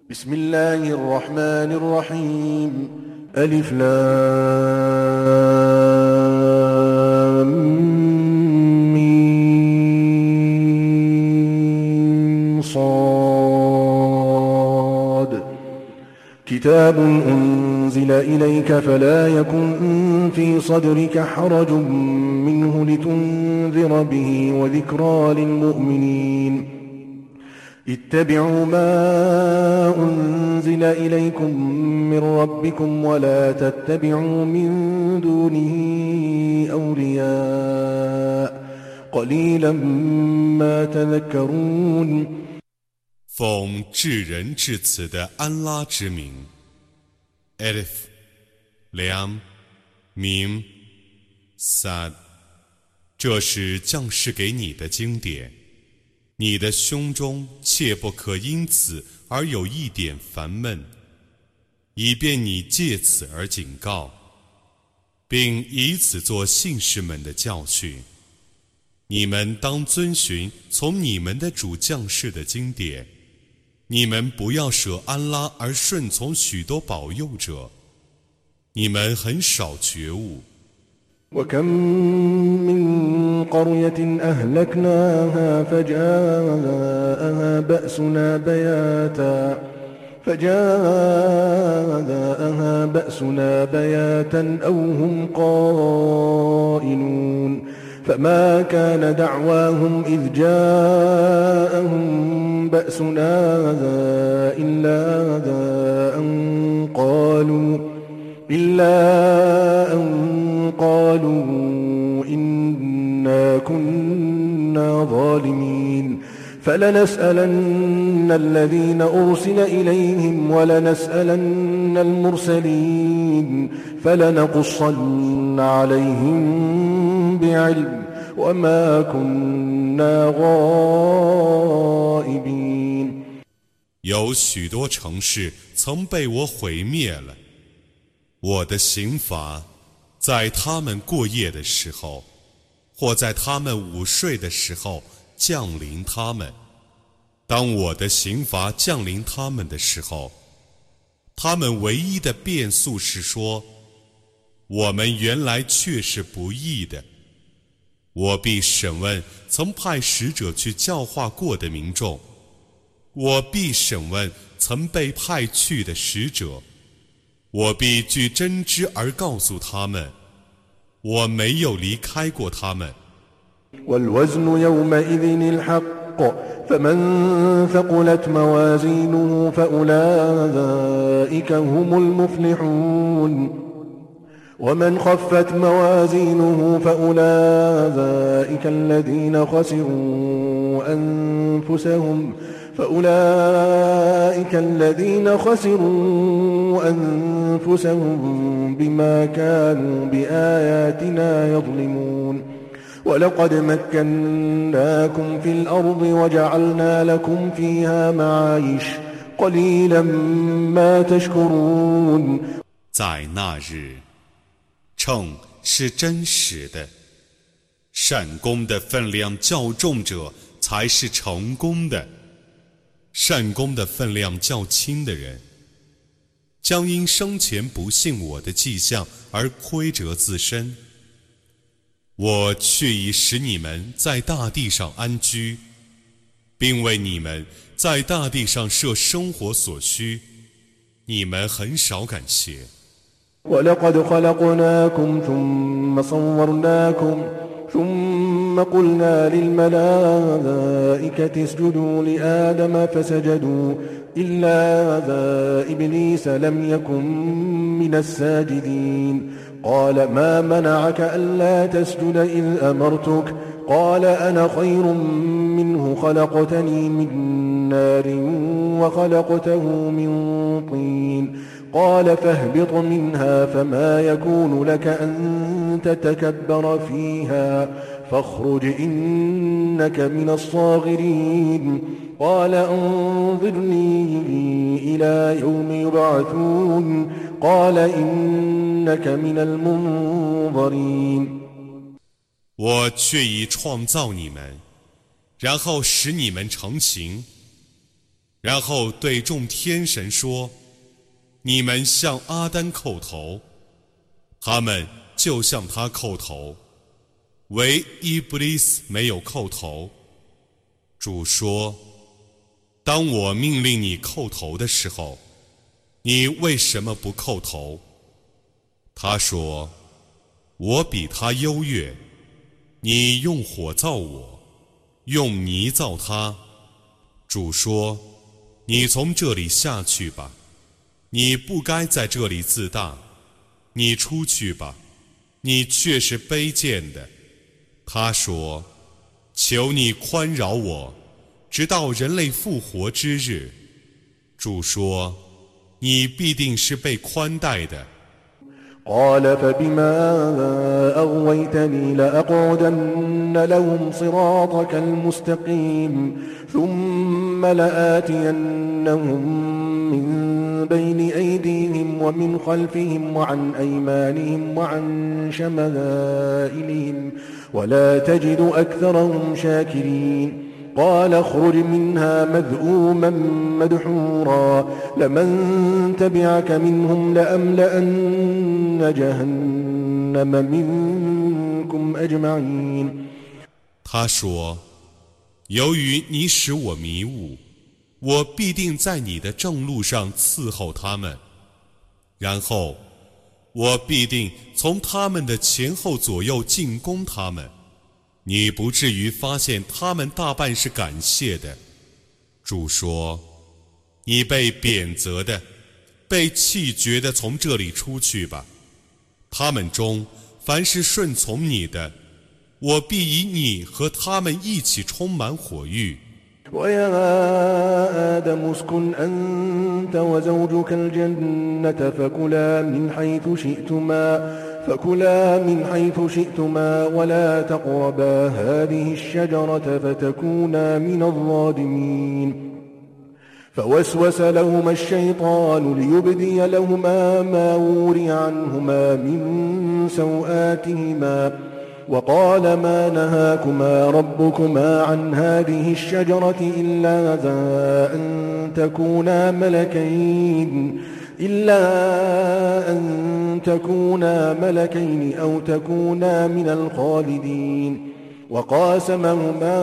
بسم الله الرحمن الرحيم ألف لام ميم صاد كتاب أنزل إليك فلا يكن في صدرك حرج منه لتنذر به وذكرى للمؤمنين اتبعوا ما أنزل إليكم من ربكم ولا تتبعوا من دونه أولياء قليلا ما تذكرون 奉至仁至慈的安拉之名 Alif Lam Mim Sad 这是降世给你的经典，你的胸中切不可因此而有一点烦闷，以便你借此而警告，并以此做信士们的教训。你们当遵循从你们的主降世的经典，你们不要舍安拉而顺从许多保佑者，你们很少觉悟。 وكم من قرية أهلكناها فجاءها بأسنا بياتا أو هم قائلون فما كان دعواهم إذ جاءهم بأسنا إلا أن قالوا إنا كنا ظالمين فلنسألن الذين أرسل إليهم ولنسألن المرسلين فلنقصن عليهم بعلم وما كنا غائبين 有许多城市曾被我毁灭了，我的刑罚在他们过夜的时候，或在他们午睡的时候降临他们。当我的刑罚降临他们的时候，他们唯一的辩诉是说，我们原来却是不义的。我必审问曾派使者去教化过的民众，我必审问曾被派去的使者，我必据真知而告诉他们，我没有离开过他们。 والوزن يومئذ الحق فمن ثقلت موازينه فأولئك هم المفلحون ومن خفت موازينه فأولئك الذين خسروا أنفسهم بما كانوا بآياتنا يظلمون ولقد مكناكم في الأرض وجعلنا لكم فيها معايش قليلا ما تشكرون 在那日，秤是真实的，善功的分量较重者才是成功的，善功的分量较轻的人，将因生前不信我的迹象而亏折自身。我却已使你们在大地上安居，并为你们在大地上设生活所需，你们很少感谢。 ولقد خلقناكم ثم صورناكم ثم قلنا للملائكة اسجدوا لآدم فسجدوا إلا إبليس لم يكن من الساجدين قال ما منعك ألا تسجد إذ أمرتك قال أنا خير منه خلقتني من نار وخلقته من طين قال فاهبط منها فما يكون لك أن تتكبر فيها فاخرج إنك من الصاغرين قال انظرني إلى يوم يبعثون قال إنك من المنظرين 我却已创造你们，然后使你们成形， 然后对众天神说：你们向阿丹叩头，他们就向他叩头，唯伊布利斯没有叩头。主说：当我命令你叩头的时候，你为什么不叩头？他说：我比他优越，你用火造我，用泥造他。主说：你从这里下去吧，你不该在这里自大，你出去吧，你却是卑贱的。他说：求你宽饶我，直到人类复活之日。主说：你必定是被宽待的。 قال فبما أغويتني لأقعدن لهم صراطك المستقيم ثم لآتينهم من بين أيديهم ومن خلفهم وعن أيمانهم وعن شمائلهم ولا تجد أكثرهم شاكرين قال اخرج منها مذءوما مدحورا لمن تبعك منهم لأملأن جهنم منكم أجمعين 他说：由于你使我迷雾，我必定在你的正路上伺候他们，然后我必定从他们的前后左右进攻他们，你不至于发现他们大半是感谢的。主说：你被贬责的，被弃绝的，从这里出去吧。他们中凡是顺从你的，我必以你和他们一起充满火狱。 ويا آدم اسكن أنت وزوجك الجنة فكلا من حيث شئتما ولا تقربا هذه الشجرة فتكونا من الظالمين فوسوس لهما الشيطان ليبدي لهما ما وري عنهما من سوآتهما وقال ما نهاكما ربكما عن هذه الشجرة إلا أن تكونا ملكين أو تكونا من الخالدين وقاسمهما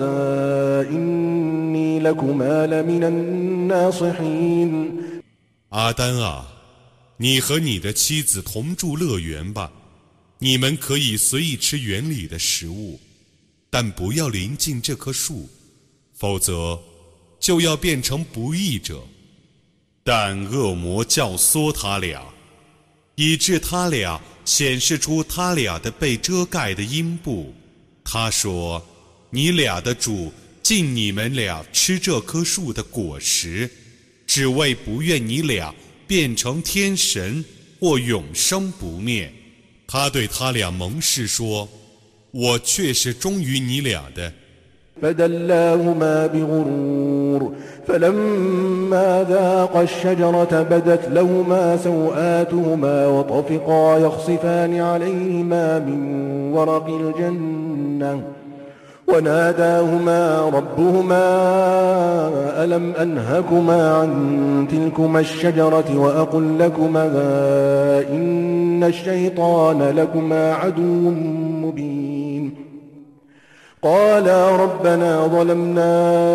إني لكما لمن الناصحين 阿丹啊，你和你的妻子同住乐园吧，你们可以随意吃园里的食物，但不要临近这棵树，否则就要变成不义者。但恶魔教唆他俩，以致他俩显示出他俩的被遮盖的阴部。他说：你俩的主禁你们俩吃这棵树的果实，只为不愿你俩变成天神或永生不灭。他对他俩盟誓说：我却是忠于你俩的。 فدلاهما بغرور فلما ذاقا الشجرة بدت لهما سوآتهما وطفقا يخصفان عليهما من ورق الجنة وناداهما ربهما ألم أنهكما عن تلكما الشجرة وأقل لكما إن الشيطان لكما عدو مبين قالا ربنا ظلمنا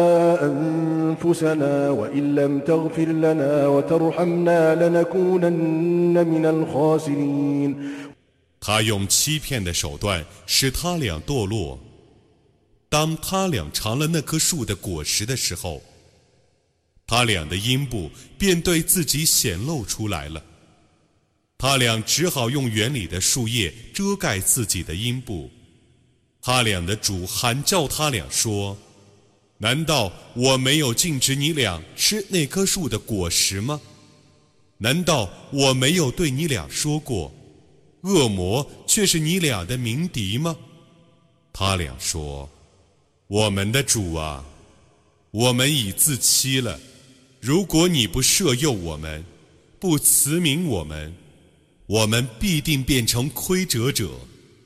أنفسنا وإن لم تغفر لنا وترحمنا لنكونن من الخاسرين 他用欺骗的手段使他俩堕落。当他俩尝了那棵树的果实的时候，他俩的阴部便对自己显露出来了。他俩只好用园里的树叶遮盖自己的阴部。他俩的主喊叫他俩说：难道我没有禁止你俩吃那棵树的果实吗？难道我没有对你俩说过，恶魔却是你俩的鸣笛吗？他俩说：我们的主啊，我们已自欺了，如果你不赦宥我们，不慈悯我们，我们必定变成亏折者。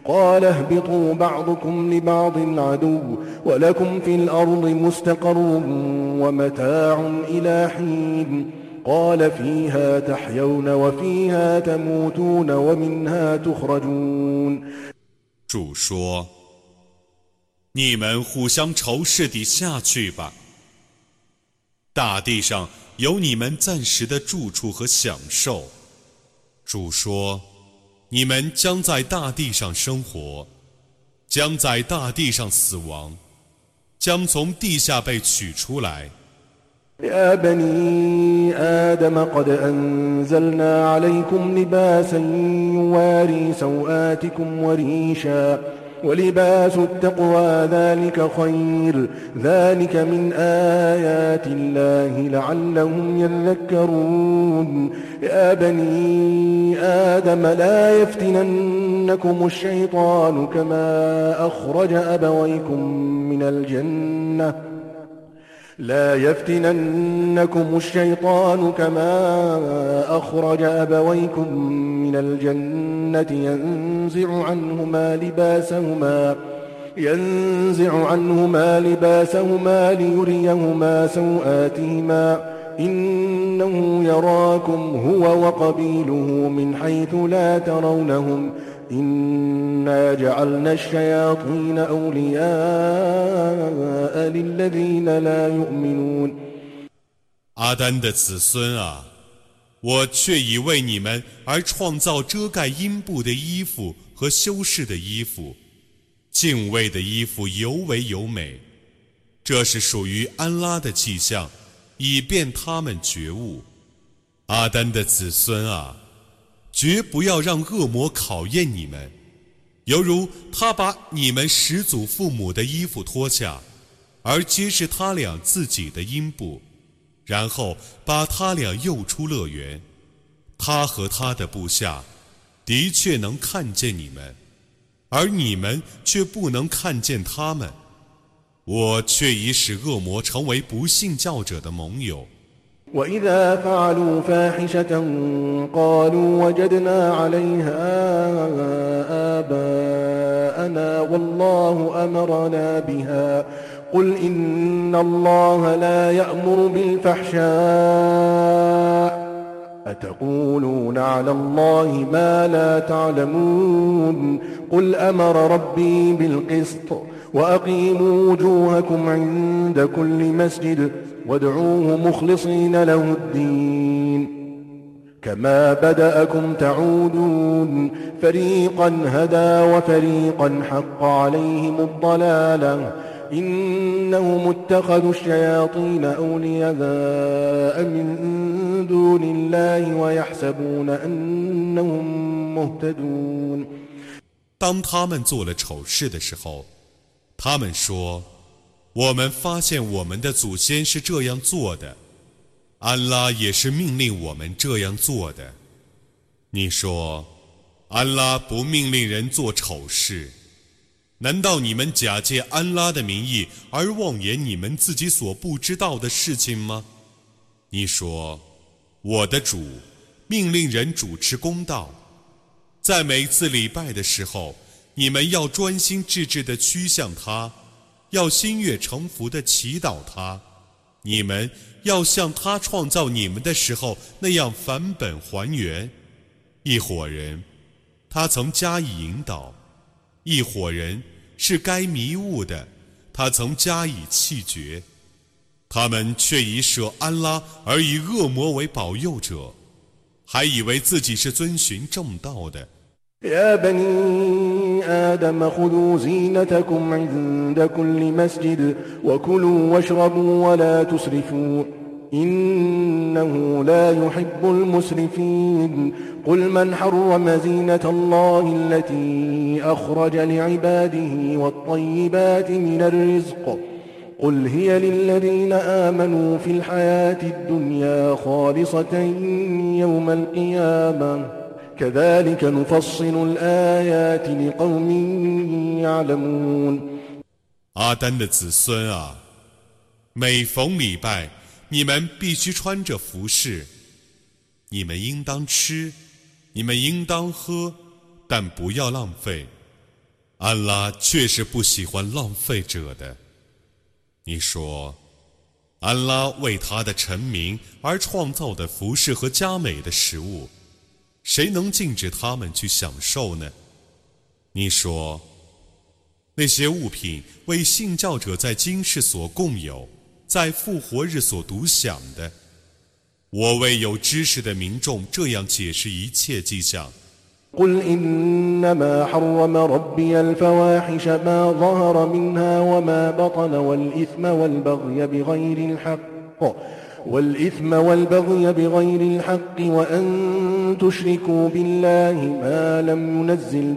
قال اهبطوا بعضكم لبعض عدو ولكم في الأرض مستقر ومتاع إلى حين قال فيها تحيون وفيها تموتون ومنها تخرجون。 主说：你们互相仇视地下去吧。大地上有你们暂时的住处和享受。主说：你们将在大地上生活，将在大地上死亡，将从地下被取出来。 يا بني آدم قد أنزلنا عليكم لباسا يواري سوآتكم وريشا ولباس التقوى ذلك خير ذلك من آيات الله لعلهم يذكرون يا بني آدم لا يفتننكم الشيطان كما أخرج أبويكم من الجنة لا يفتننكم الشيطان كما أخرج أبويكم من الجنة ينزع عنهما لباسهما ليريهما سوآتهما إنه يراكم هو وقبيله من حيث لا ترونهم إنا جعلنا الشياطين أولياء للذين لا يؤمنون。 阿丹的子孙啊，我却已为你们而创造遮盖阴部的衣服和修饰的衣服，敬畏的衣服尤为优美，这是属于安拉的迹象，以便他们觉悟。阿丹的子孙啊，绝不要让恶魔考验你们，犹如他把你们始祖父母的衣服脱下，而揭示他俩自己的阴部，然后把他俩诱出乐园。他和他的部下的确能看见你们，而你们却不能看见他们。我却已使恶魔成为不信教者的盟友。 وإذا فعلوا فاحشة قالوا وجدنا عليها آباءنا والله أمرنا بها قل إن الله لا يأمر بالفحشاء أتقولون على الله ما لا تعلمون قل أمر ربي بالقسط وأقيموا وجوهكم عند كل مسجد وادعوه مخلصين له الدين كما بدأكم تعودون فريقا هدى وفريقا حق عليهم الضلالة إنهم اتخذوا الشياطين أولياء من دون الله ويحسبون أنهم مهتدون。 当他们做了丑事的时候，他们说：我们发现我们的祖先是这样做的，安拉也是命令我们这样做的。你说，安拉不命令人做丑事，难道你们假借安拉的名义而妄言你们自己所不知道的事情吗？你说，我的主命令人主持公道，在每次礼拜的时候，你们要专心致志地趋向他，要心悦诚服地祈祷他，你们要像他创造你们的时候那样返本还原。一伙人，他曾加以引导；一伙人是该迷雾的，他曾加以弃绝。他们却以舍安拉而以恶魔为保佑者，还以为自己是遵循正道的。 يا بني آدم خذوا زينتكم عند كل مسجد وكلوا واشربوا ولا تسرفوا إنه لا يحب المسرفين قل من حرم زينة الله التي أخرج لعباده والطيبات من الرزق قل هي للذين آمنوا في الحياة الدنيا خالصة يوم القيامة كذلك نفصل الآيات لقوم يعلمون。 阿丹的子孙啊，每逢礼拜，你们必须穿着服饰，你们应当吃，你们应当喝，但不要浪费。 安拉确实不喜欢浪费者的。你说，安拉为他的臣民而创造的服饰和佳美的食物，谁能禁止他们去享受呢？你说，那些物品为信教者在今世所共有，在复活日所独享的。我为有知识的民众这样解释一切迹象。 قل إنما حرم ربي الفواحش ما ظهر منها وما بطن والإثم والبغي بغير الحق وأن تشركوا بالله ما لم ينزل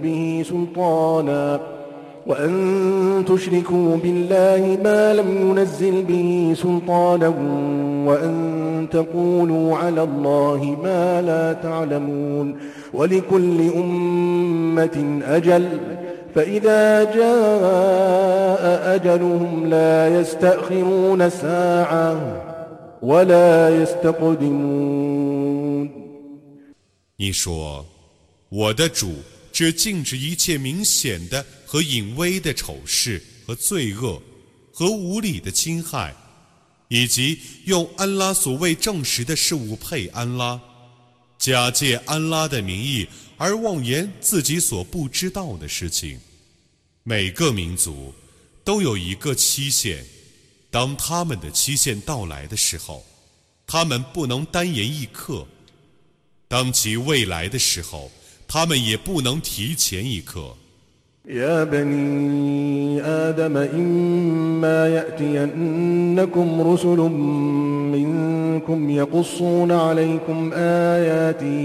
به سلطانا وأن تقولوا على الله ما لا تعلمون ولكل أمة أجل فإذا جاء أجلهم لا يستأخرون ساعة ولا يستقدمون 你说，我的主只禁止一切明显的和隐微的丑事和罪恶和无理的侵害，以及用安拉所谓证实的事物配安拉，假借安拉的名义而妄言自己所不知道的事情。每个民族都有一个期限，当他们的期限到来的时候，他们不能单言一刻；当其未来的时候，他们也不能提前一刻。 يا بني آدم إما يأتينكم رسل منكم يقصون عليكم آياتي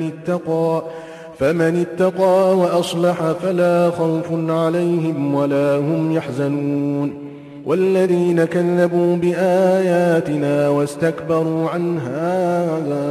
فمن اتقى وأصلح فلا خوف عليهم ولا هم يحزنون والذين كذبوا بآياتنا واستكبروا عنها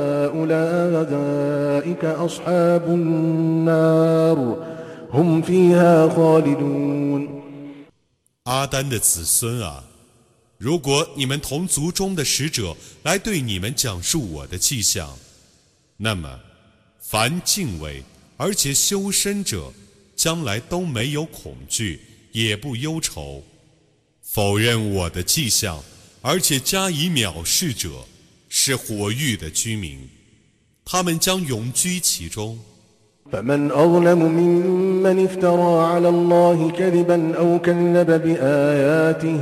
أولئك أصحاب النار هم فيها خالدون 阿丹的子孙啊，如果你们同族中的使者来对你们讲述我的迹象，那么凡敬畏而且修身者，将来都没有恐惧，也不忧愁；否认我的迹象而且加以藐视者，是火狱的居民，他们将永居其中。 فمن أظلم ممن افترى على الله كذبا أو كذب بآياته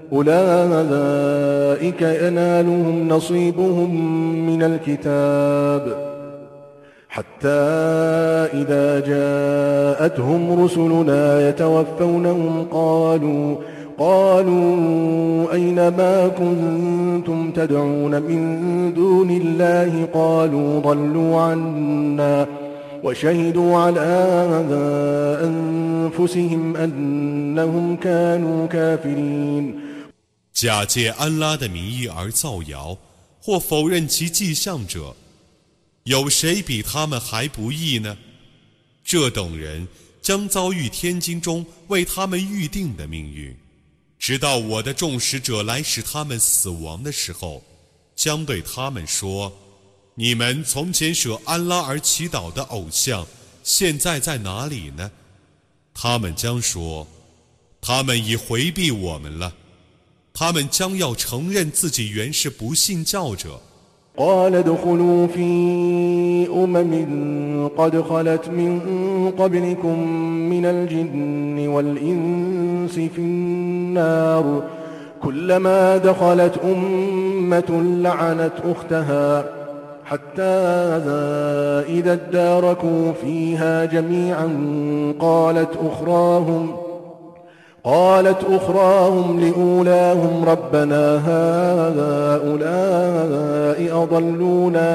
أولئك ينالهم نصيبهم من الكتاب حتى إذا جاءتهم رسلنا يتوفونهم قالوا أين ما كنتم تدعون من دون الله قالوا ضلوا عنا وشهدوا على أنفسهم أنهم كانوا كافرين 假借安拉的名义而造谣或否认其迹象者，有谁比他们还不义呢？这等人将遭遇天经中为他们预定的命运，直到我的众使者来使他们死亡的时候，将对他们说：你们从前舍安拉而祈祷的偶像，现在在哪里呢？他们将说：他们已回避我们了。他们将要承认自己原是不信教者。 قال ادخلوا في قد خلت من قبلكم من الجن والإنس في النار كلما دخلت لعنت أختها حتى إذا اداركوا فيها جميعا قالت أخراهم لأولاهم ربنا هؤلاء أضلونا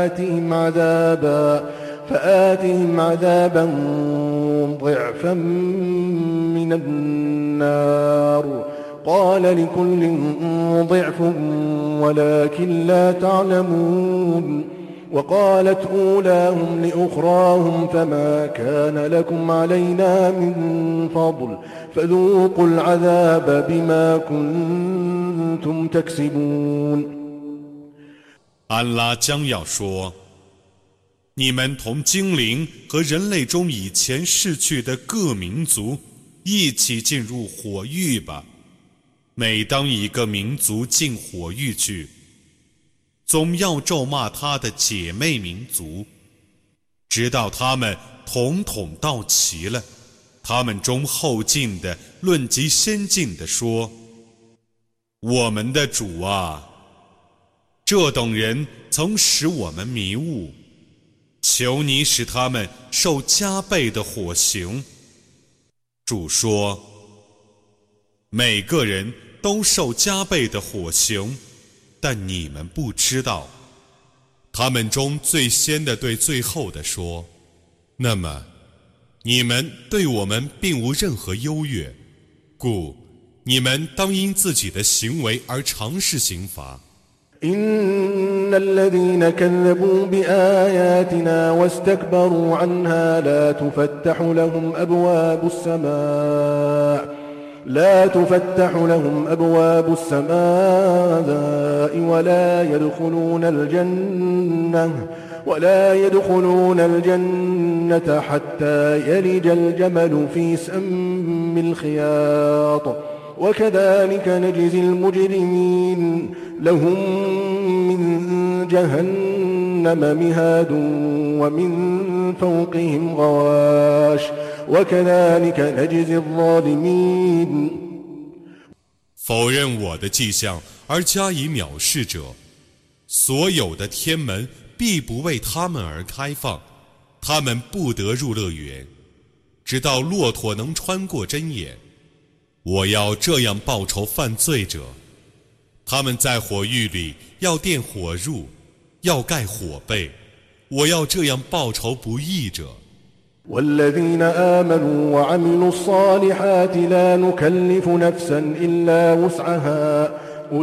فآتهم عذابا ضعفا من النار قال لكل ضعف ولكن لا تعلمون وقالت أولاهم لأخراهم فما كان لكم علينا من فضل فذوقوا العذاب بما كنتم تكسبون 安拉将要说： 你们同精灵和人类中以前逝去的各民族一起进入火狱吧。每当一个民族进火狱去，总要咒骂他的姐妹民族，直到他们统统到齐了。他们中后进的论及先进的说：我们的主啊，这等人曾使我们迷雾，求你使他们受加倍的火刑。主说：每个人都受加倍的火刑，但你们不知道。他们中最先的对最后的说：那么你们对我们并无任何优越，故你们当因自己的行为而尝试刑罚。 إن الذين كذبوا بآياتنا واستكبروا عنها لا تفتح لهم أبواب السماء ولا يدخلون الجنة حتى يلج الجمل في سم الخياط وكذلك نجزي المجرمين لهم من جهنم مهاد ومن فوقهم غواش وكذلك نجزي الظالمين。 否认我的迹象而加以藐视者，所有的天门必不为他们而开放，他们不得入乐园，直到骆驼能穿过针眼。我要这样报仇犯罪者，他们在火狱里要垫火褥，要盖火被，我要这样报仇不义者。 والذين آمنوا وعملوا الصالحات لا نكلف نفسا إلا وسعها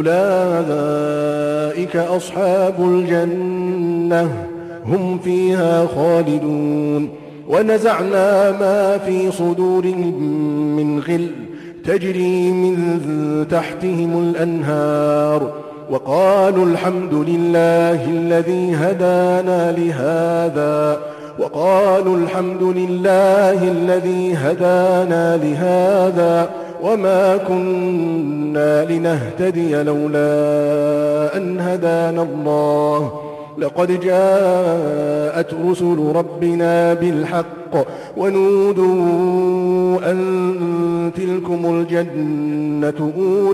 أولئك أصحاب الجنة هم فيها خالدون ونزعنا ما في صدورهم من غل تجري من تحتهم الأنهار وقالوا الحمد لله الذي هدانا لهذا وما كنا لنهتدي لولا أن هدانا الله لقد جاءت رسل ربنا بالحق ونودوا أن تلكم الجنة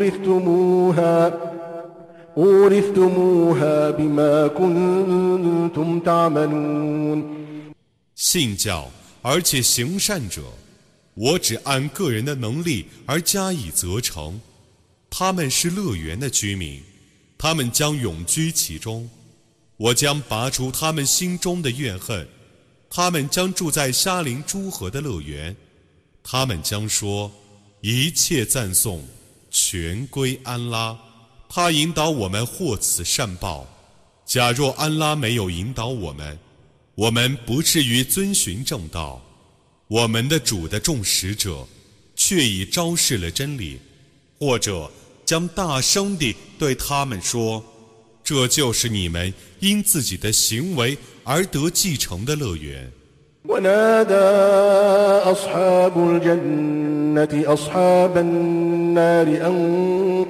أورثتموها بما كنتم تعملون。 信教而且行善者，我只按个人的能力而加以责成。他们是乐园的居民，他们将永居其中。我将拔除他们心中的怨恨，他们将住在沙林诸河的乐园。他们将说：一切赞颂全归安拉，他引导我们获此善报。假若安拉没有引导我们，我们不至于遵循正道。我们的主的众使者却已昭示了真理，或者将大声地对他们说：这就是你们因自己的行为而得继承的乐园。 ونادى أصحاب الجنة أصحاب النار أن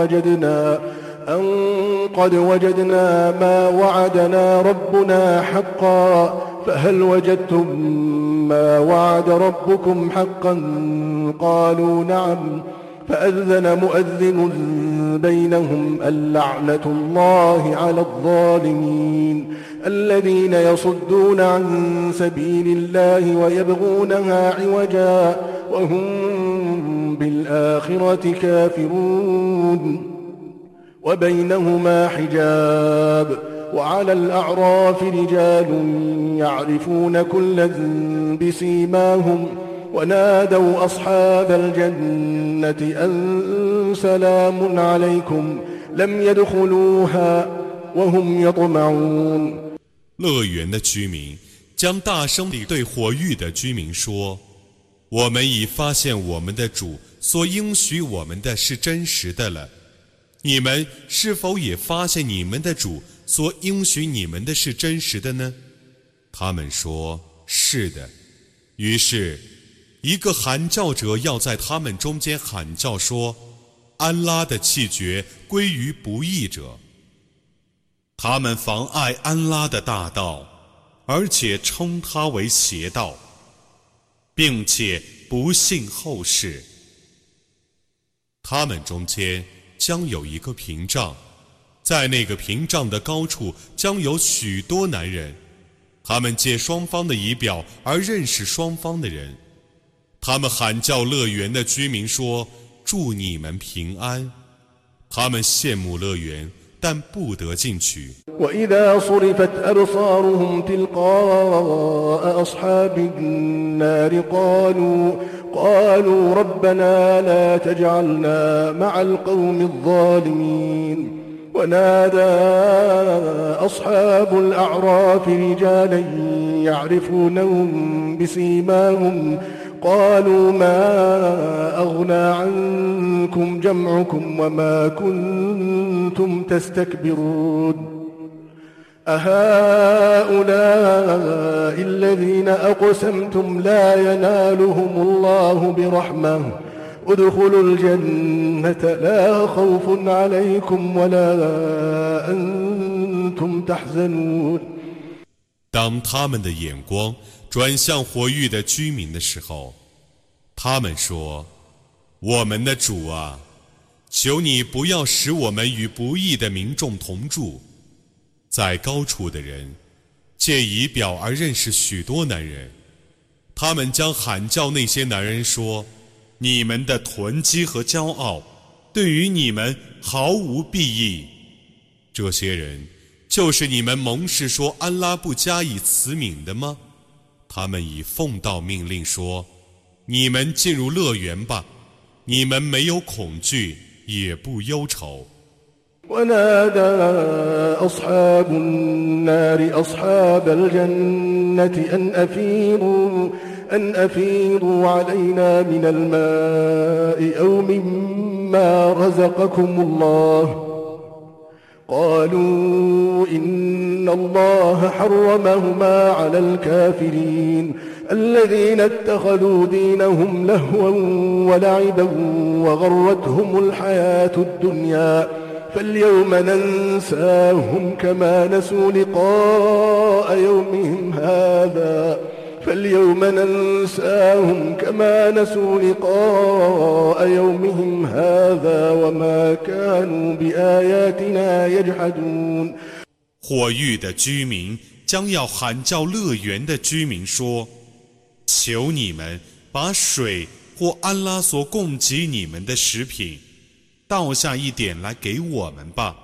قد وجدنا ما وعدنا ربنا حقا فهل وجدتم ما وعد ربكم حقا قالوا نعم فأذن مؤذن بينهم اللعنة الله على الظالمين الذين يصدون عن سبيل الله ويبغونها عوجا وهم بالآخرة كافرون وبينهما حجاب وعلى الأعراف رجال يعرفون كلا بسيماهم ونادوا أصحاب الجنة أن سلام عليكم لم يدخلوها وهم يطمعون。 乐园的居民将大声地对火狱的居民说：我们已发现我们的主所应许我们的是真实的了，你们是否也发现你们的主所应许你们的是真实的呢？ 他们说：“是的。”于是，一个喊叫者要在他们中间喊叫说：“安拉的气绝归于不义者。”他们妨碍安拉的大道，而且称他为邪道，并且不信后世。他们中间将有一个屏障，在那个屏障的高处将有许多男人，他们借双方的仪表而认识双方的人。他们喊叫乐园的居民说：“祝你们平安。”他们羡慕乐园，但不得进去。 وإذا صرفت أبصارهم تلقاء أصحاب النار قالوا ربنا لا تجعلنا مع القوم الظالمين ونادى أصحاب الأعراف رجالا يعرفونهم بسيماهم قالوا ما أغنى عنكم جمعكم وما كنتم تستكبرون أهؤلاء الذين أقسمتم لا ينالهم الله برحمة ادخلوا الجنة لا خوف عليكم ولا أنتم تحزنون 当他们的眼光转向火域的居民的时候，他们说：“我们的主啊，求你不要使我们与不义的民众同住。”在高处的人借仪表而认识许多男人，他们将喊叫那些男人说：“你们的囤积和骄傲对于你们毫无裨益。”这些人就是你们盟誓说安拉不加以慈悯的吗？他们已奉到命令说：“你们进入乐园吧，你们没有恐惧，也不忧愁。” ونادى أصحاب النار أصحاب الجنة أن أفيضوا علينا من الماء أو مما رزقكم الله قالوا إن الله حرمهما على الكافرين الذين اتخذوا دينهم لهوا ولعبا وغرتهم الحياة الدنيا فاليوم ننساهم كما نسوا لقاء يومهم هذا وما كانوا بآياتنا يجحدون 火域的居民将要喊叫乐园的居民说：“求你们把水或安拉所供给你们的食品倒下一点来给我们吧。”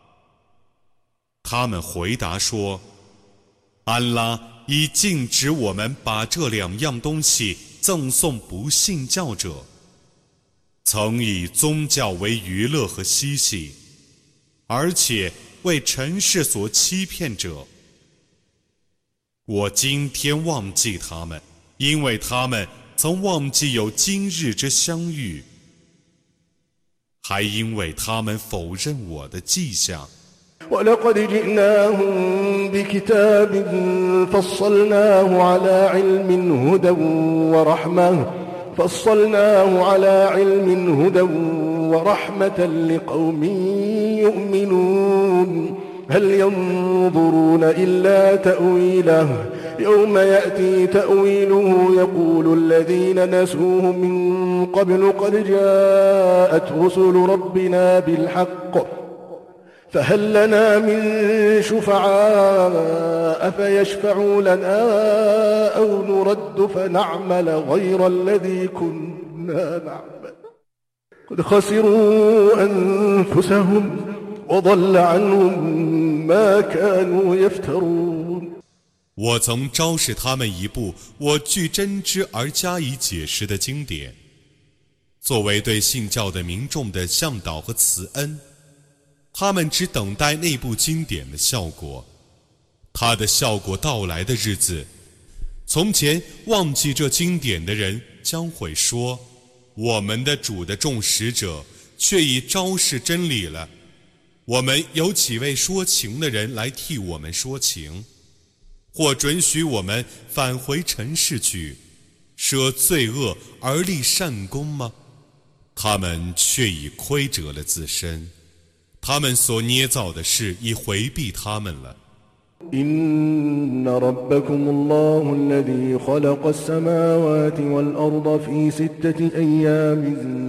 他们回答说：“安拉已禁止我们把这两样东西赠送不信教者，曾以宗教为娱乐和嬉戏，而且为尘世所欺骗者。我今天忘记他们，因为他们曾忘记有今日之相遇，还因为他们否认我的迹象。 ولقد جئناهم بكتاب فصلناه على علم هدى ورحمة لقوم يؤمنون هل ينظرون إلا تأويله يوم يأتي تأويله يقول الذين نسوه من قبل قد جاءت رسل ربنا بالحق فهل لنا من شفعاء فيشفعوا لنا أو نرد فنعمل غير الذي كنا نعمل قد خسروا أنفسهم وضل عنهم ما كانوا يفترون 我曾昭示他们一部我据真知而加以解释的经典，作为对信教的民众的向导和慈恩。他们只等待那部经典的效果，它的效果到来的日子，从前忘记这经典的人将会说：“我们的主的众使者却已昭示真理了，我们有几位说情的人来替我们说情。” 或准许我们返回尘世去，舍罪恶而立善功吗？他们却已亏折了自身，他们所捏造的事已回避他们了。 إن ربكم الله الذي خلق السماوات والأرض في 6 أيام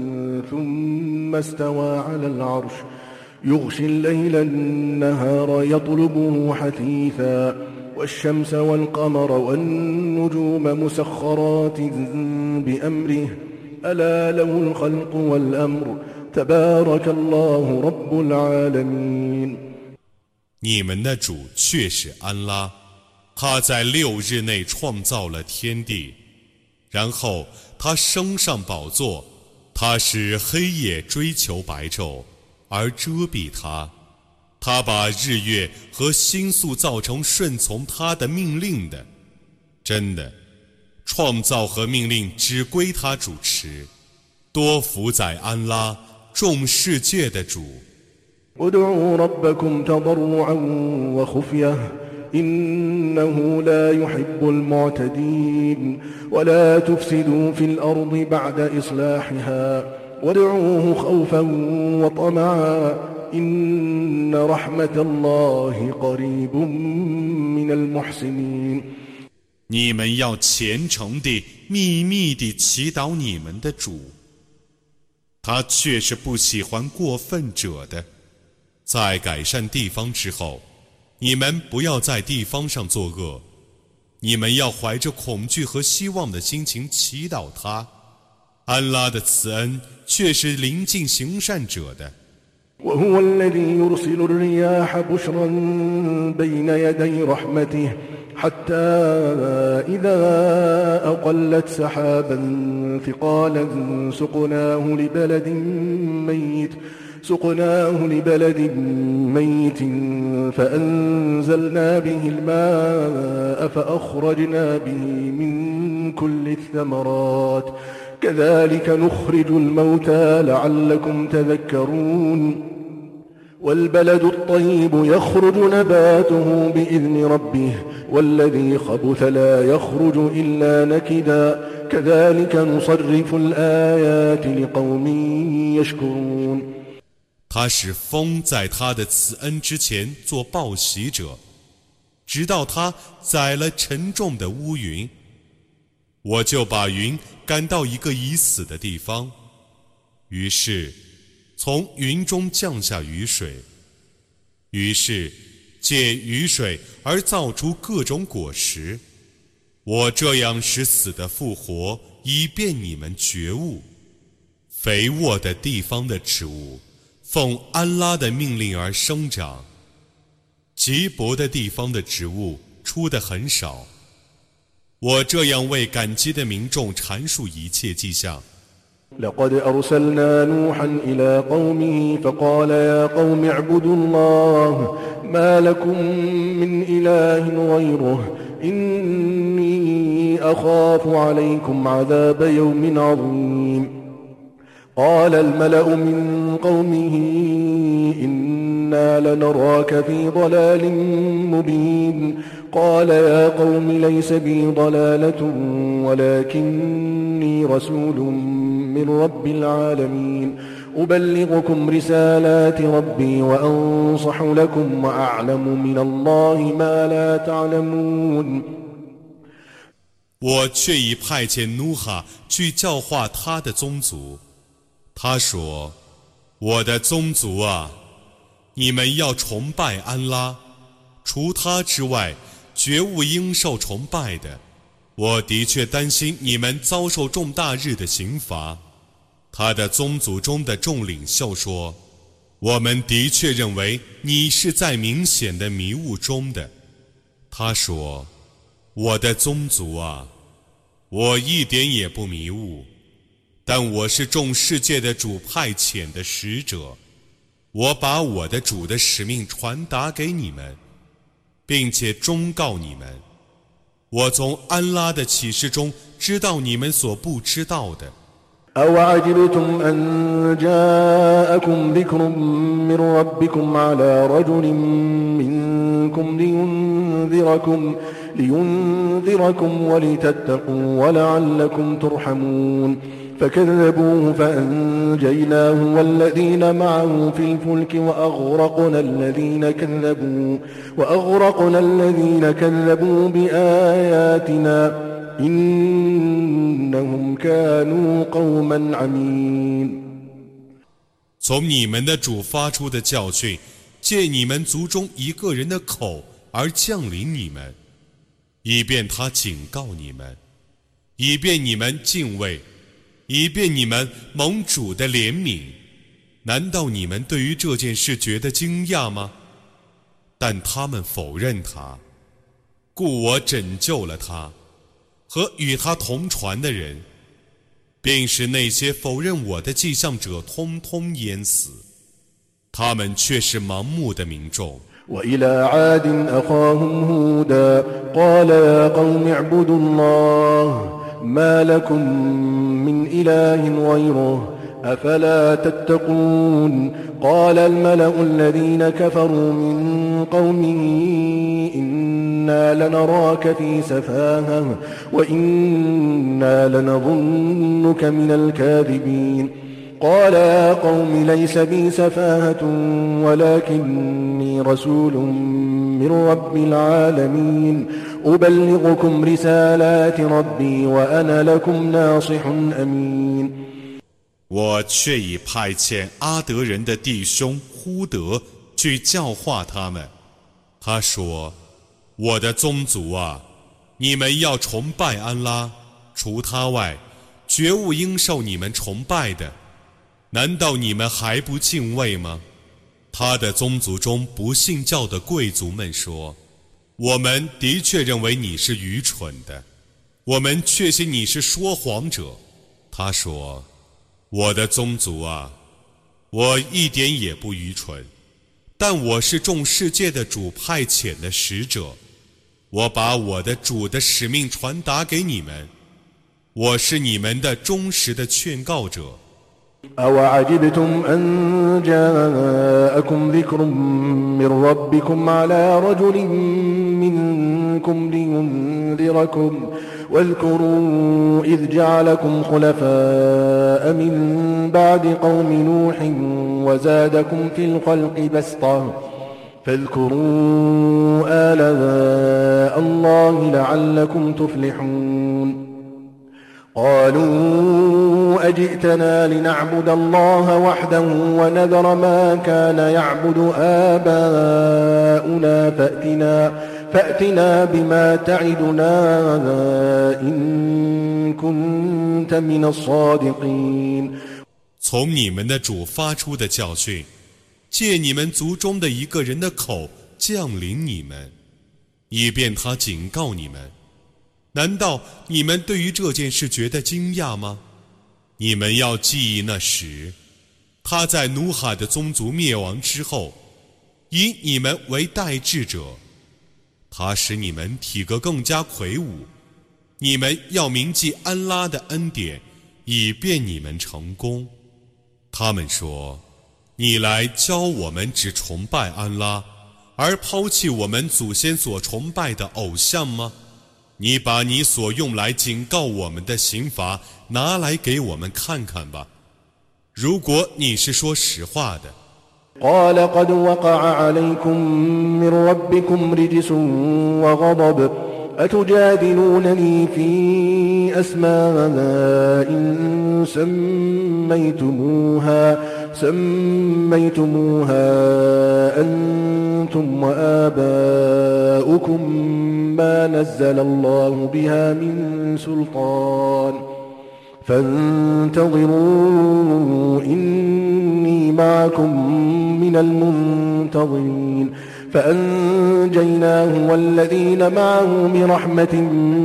ثم استوى على العرش يغشي الليل النهار يطلبه حثيثا والشمس والقمر والنجوم مسخرات بأمره ألا له الخلق والأمر تبارك الله رب العالمين。 你们的主却是安拉，他在6日内创造了天地，然后他升上宝座，他使黑夜追求白昼而遮蔽他，他把日月和星宿造成顺从他的命令的。真的，创造和命令只归他主持，多福在安拉，众世界的主。 ادعوا ربكم تضرعا وخفية إنه لا يحب المعتدين ولا تفسدوا في الأرض بعد إصلاحها وادعوه خوفا وطمعا إن رحمة الله قريب من المحسنين。 你们要虔诚地、秘密地祈祷你们的主，他却是不喜欢过分者的。在改善地方之后，你们不要在地方上作恶，你们要怀着恐惧和希望的心情祈祷他。安拉的慈恩却是临近行善者的。 وهو الذي يرسل الرياح بشرا بين يدي رحمته حتى إذا أقلت سحابا ثقالا سقناه لبلد ميت فأنزلنا به الماء فأخرجنا به من كل الثمرات كذلك نخرج الموتى لعلكم تذكرون والبلد الطيب يخرج نباته بإذن ربه والذي خبث لا يخرج إلا نكدا كذلك نصرف الآيات لقوم يشكرون。 他使风在他的慈恩之前做报喜者，直到他载了沉重的乌云，我就把云赶到一个已死的地方，于是从云中降下雨水，于是借雨水而造出各种果实。我这样使死的复活，以便你们觉悟。肥沃的地方的植物奉安拉的命令而生长，瘠薄的地方的植物出得很少。我这样为感激的民众阐述一切迹象。 لقد أرسلنا نوحا إلى قومه فقال يا قوم اعبدوا الله ما لكم من إله غيره إني أخاف عليكم عذاب يوم عظيم قال الملأ من قومه إنا لنراك في ضلال مبين قال يا قوم ليس بي ضلالة ولكني رسول من رب العالمين أبلغكم رسالات ربي وأنصح لكم وأعلم من الله ما لا تعلمون。 我却已派遣努哈去教化他的宗族。他说：“我的宗族啊，你们要崇拜安拉，除他之外，绝无应受崇拜的。我的确担心你们遭受重大日的刑罚。”他的宗族中的众领袖说：“我们的确认为你是在明显的迷雾中的。”他说：“我的宗族啊，我一点也不迷雾。但我是众世界的主派遣的使者，我把我的主的使命传达给你们，并且忠告你们。我从安拉的启示中知道你们所不知道的。 أوعجبتم أن جاءكم ذكر من ربكم على رجل منكم لينذركم ولتتقوا ولعلكم ترحمون فكذبوه فأنجيناه والذين معه في الفلك وأغرقنا الذين كذبوا بآياتنا إنهم كانوا قوما عمين。 从你们的主发出的教训，借你们族中一个人的口而降临你们，以便他警告你们，以便你们敬畏，以便你们蒙主的怜悯。难道你们对于这件事觉得惊讶吗？但他们否认他，故我拯救了他和与他同船的人，并使那些否认我的迹象者通通淹死，他们却是盲目的民众。 وإلى عاد أخاهم هودا قال يا قوم اعبدوا الله ما لكم من إله غيره أفلا تتقون قال الملأ الذين كفروا من قومه إنا لنراك في سفاهة وإنا لنظنك من الكاذبين قال يا قوم ليس بي سفاهة ولكني رسول من رب العالمين أبلغكم رسالات ربي وأنا لكم ناصح أمين。 我却已派遣阿德人的弟兄呼德去教化他们。他说：“我的宗族啊，你们要崇拜安拉，除他外，绝无应受你们崇拜的。难道你们还不敬畏吗？”他的宗族中不信教的贵族们说：“我们的确认为你是愚蠢的，我们确信你是说谎者。”他说：“我的宗族啊，我一点也不愚蠢，但我是众世界的主派遣的使者，我把我的主的使命传达给你们，我是你们的忠实的劝告者。 أوعجبتم أن جاءكم ذكر من ربكم على رجل منكم لينذركم واذكروا إذ جعلكم خلفاء من بعد قوم نوح وزادكم في الخلق بسطة فاذكروا آلاء الله لعلكم تفلحون قالوا أجئتنا لنعبد الله وحده ونذر ما كان يعبد آباؤنا فأتنا بما تعدنا إن كنت من الصادقين。 从你们的主发出的教训，借你们族中的一个人的口降临你们，以便他警告你们。难道你们对于这件事觉得惊讶吗？你们要记忆那时，他在努哈的宗族灭亡之后，以你们为代志者，他使你们体格更加魁梧。你们要铭记安拉的恩典，以便你们成功。他们说：“你来教我们只崇拜安拉，而抛弃我们祖先所崇拜的偶像吗？你把你所用来警告我们的刑罚拿来给我们看看吧，如果你是说实话的。” قال قد وقع عليكم من ربكم رجس وغضب أتجادلونني في أسماء سميتموها أنتم وآباؤكم ما نزل الله بها من سلطان فانتظروا إني معكم من المنتظرين فأنجيناه والذين معه برحمة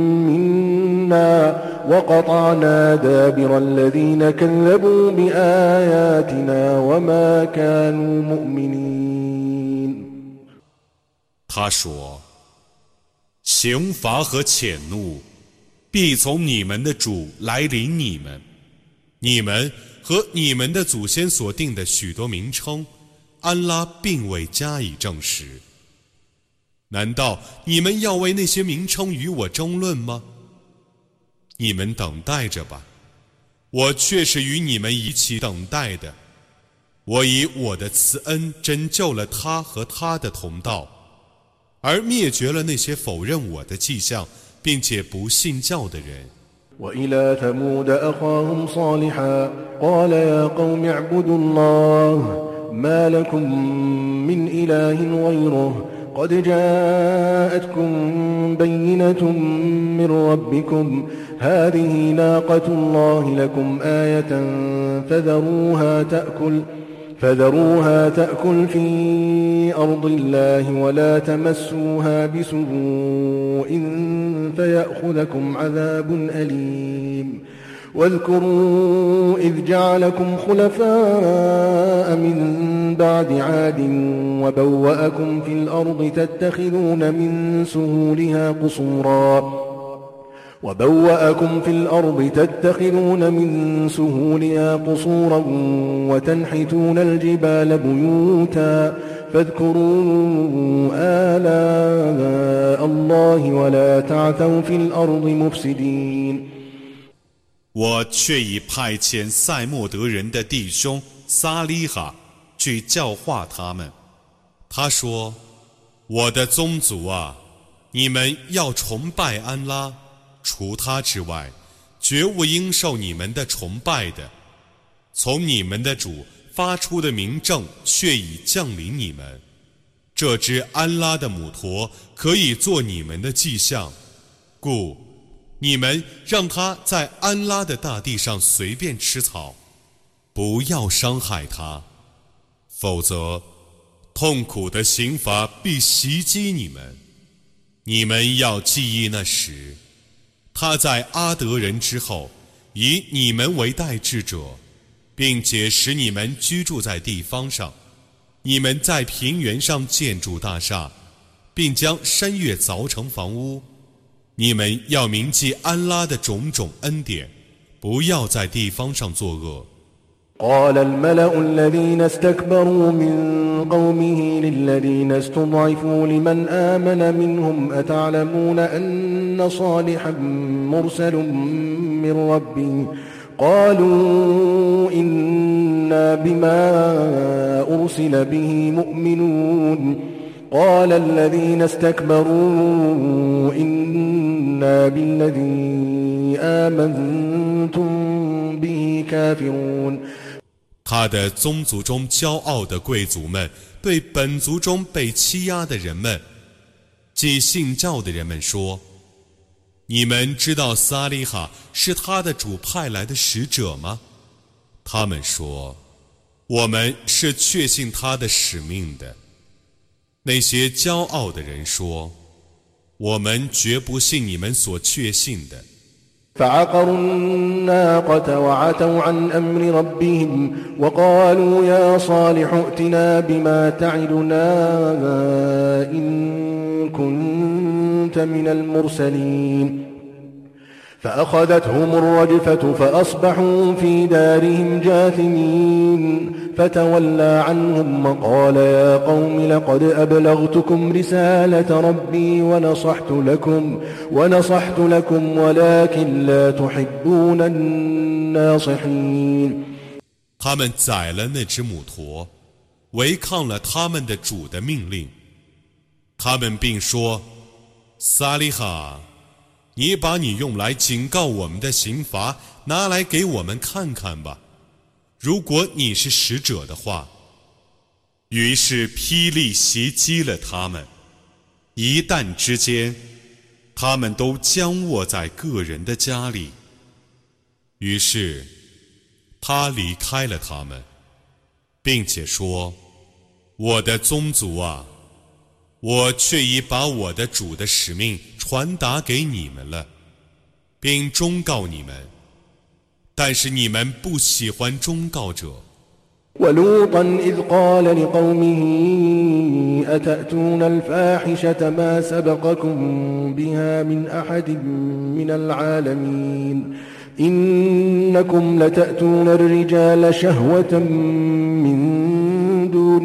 منا وقطعنا دابر الذين كذبوا بآياتنا وما كانوا مؤمنين。 他说：“刑罚和谴怒必从你们的主来临你们， 你们和你们的祖先所定的许多名称，安拉并未加以证实。难道你们要为那些名称与我争论吗？你们等待着吧，我却是与你们一起等待的。我以我的慈恩拯救了他和他的同道，而灭绝了那些否认我的迹象并且不信教的人。 وإلى ثمود أخاهم صالحا قال يا قوم اعبدوا الله ما لكم من إله غيره قد جاءتكم بينة من ربكم هذه ناقة الله لكم آية فذروها تأكل في أرض الله ولا تمسوها بسوء فيأخذكم عذاب أليم واذكروا إذ جعلكم خلفاء من بعد عاد وبوأكم في الأرض تتخذون من سهولها قصورا وتنحتون الجبال بيوتا فاذكروا آلاء الله ولا تعثوا في الأرض مفسدين 我却已派遣塞莫德人的弟兄撒利哈去教化他们。他说：“我的宗族啊，你们要崇拜安拉，除他之外，绝无应受你们的崇拜的。从你们的主发出的明证却已降临你们。这只安拉的母驼可以做你们的迹象，故你们让它在安拉的大地上随便吃草，不要伤害它，否则痛苦的刑罚必袭击你们。你们要记忆那时，他在阿德人之后以你们为代志者，并且使你们居住在地方上。你们在平原上建筑大厦，并将山岳凿成房屋。你们要铭记安拉的种种恩典，不要在地方上作恶。 قال الملأ الذين استكبروا من قومه للذين استضعفوا لمن آمن منهم أتعلمون أن صالحا مرسل من ربه قالوا إنا بما أرسل به مؤمنون قال الذين استكبروا إنا بالذي آمنتم به كافرون 他的宗族中骄傲的贵族们对本族中被欺压的人们，即信教的人们说：你们知道撒利哈是他的主派来的使者吗？他们说：我们是确信他的使命的。那些骄傲的人说：我们绝不信你们所确信的。 فعقروا الناقة وعتوا عن أمر ربهم وقالوا يا صالح ائتنا بما تعدنا إن كنت من المرسلين فأخذتهم الرجفة فأصبحوا في دارهم جاثمين فتولى عنهم وقال يا قوم لقد أبلغتكم رسالة ربي ونصحت لكم ولكن لا تحبون الناصحين 他们宰了那只母驼，违抗了他们的主的命令。他们并说：撒利哈，你把你用来警告我们的刑罚拿来给我们看看吧，如果你是使者的话。于是霹雳袭击了他们，一旦之间，他们都僵卧在个人的家里。于是他离开了他们，并且说：我的宗族啊，我却已把我的主的使命传达给你们了，并忠告你们，但是你们不喜欢忠告者。 ولوطا إذ قال لقومه أتأتون الفاحشة ما سبقكم بها من أحد من العالمين إنكم لتأتون الرجال شهوة من دون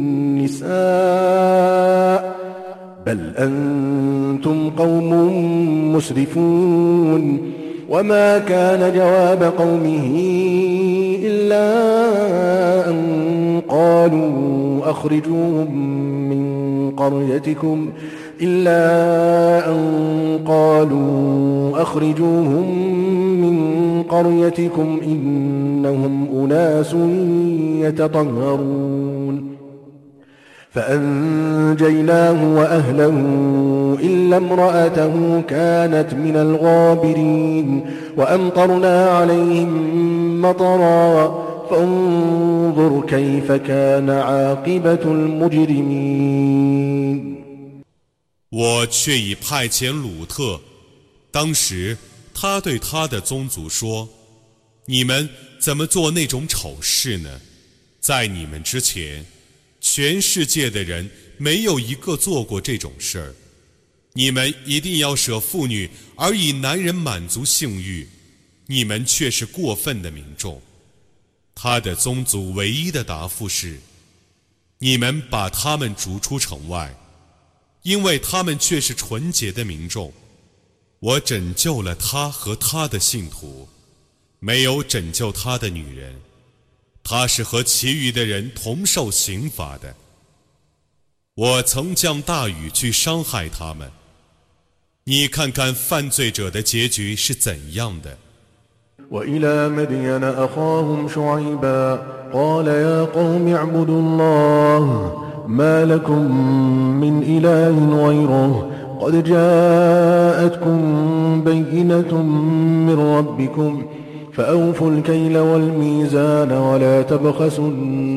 النساء بل أنتم قوم مسرفون وما كان جواب قومه إلا أن قالوا أخرجوهم من قريتكم إنهم أناس يتطهرون فأنجيناه وأهله إلا امرأته كانت من الغابرين وأمطرنا عليهم مطرا فانظر كيف كان عاقبة المجرمين 我却已派遣鲁特，当时他对他的宗族说：“你们怎么做那种丑事呢？在你们之前，全世界的人没有一个做过这种事儿。你们一定要舍妇女而以男人满足性欲，你们却是过分的民众。”他的宗族唯一的答复是：“你们把他们逐出城外，因为他们却是纯洁的民众。我拯救了他和他的信徒，没有拯救他的女人，他是和其余的人同受刑罚的。我曾降大雨去伤害他们，你看看犯罪者的结局是怎样的。” وإلى مدين أخاهم شعيبا قال يا قوم اعبدوا الله ما لكم من إله غيره قد جاءتكم بينة من ربكم فأوفوا الكيل والميزان ولا تبخسوا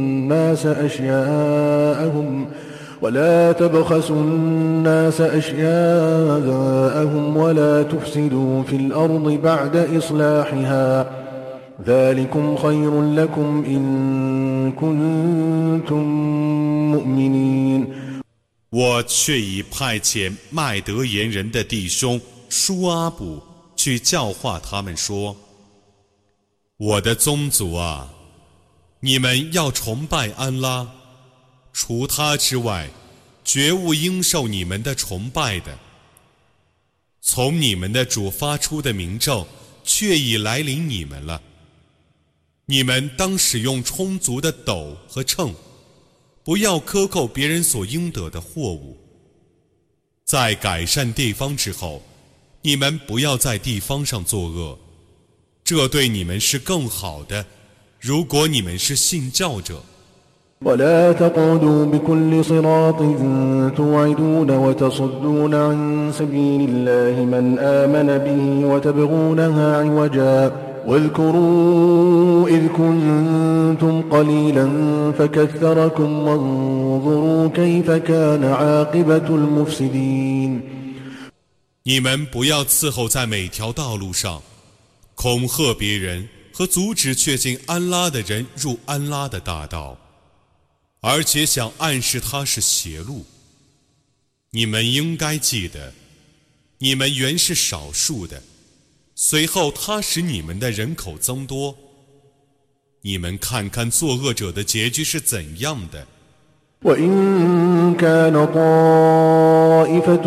الناس أشياءهم ولا تفسدوا في الأرض بعد إصلاحها ذلكم خير لكم إن كنتم مؤمنين 我却已派遣麦德言人的弟兄舒阿卜去教化他们说：“我的宗族啊，你们要崇拜安拉。除他之外，绝无应受你们的崇拜的。从你们的主发出的明证，却已来临你们了。你们当使用充足的斗和秤，不要克扣别人所应得的货物。在改善地方之后，你们不要在地方上作恶，这对你们是更好的，如果你们是信教者。 ولا تقعدوا بكل صراط توعدون وتصدون عن سبيل الله من آمن به وتبغونها عوجا واذكروا إذ كنتم قليلا فكثركم وانظروا كيف كان عاقبة المفسدين 你们不要伺候在每条道路上，恐吓别人和阻止确信安拉的人入安拉的大道，而且想暗示他是邪路。你们应该记得，你们原是少数的，随后他使你们的人口增多。你们看看作恶者的结局是怎样的。 وإن كان طائفة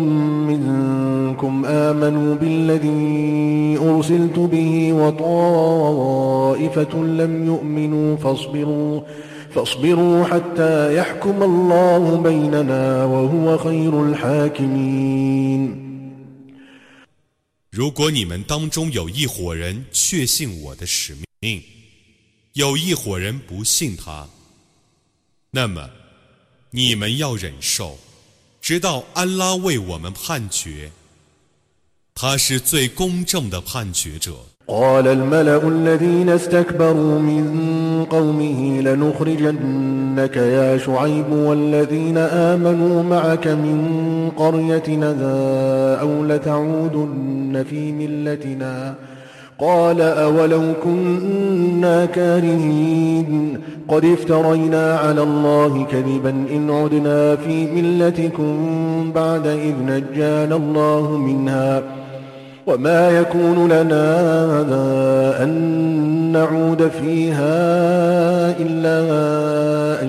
منكم آمنوا بالذي أرسلت به وطائفة لم يؤمنوا فاصبروا حتى يحكم الله بيننا وهو خير الحاكمين 如果你们当中有一伙人确信我的使命，有一伙人不信他，那么你们要忍受，直到安拉为我们判决，他是最公正的判决者。 قال الملأ الذين استكبروا من قومه لنخرجنك يا شعيب والذين آمنوا معك من قريتنا أو لتعودن في ملتنا قال أولو كنا كارهين قد افترينا على الله كذبا إن عدنا في ملتكم بعد إذ نجانا الله منها وما يكون لنا أن نعود فيها إلا أن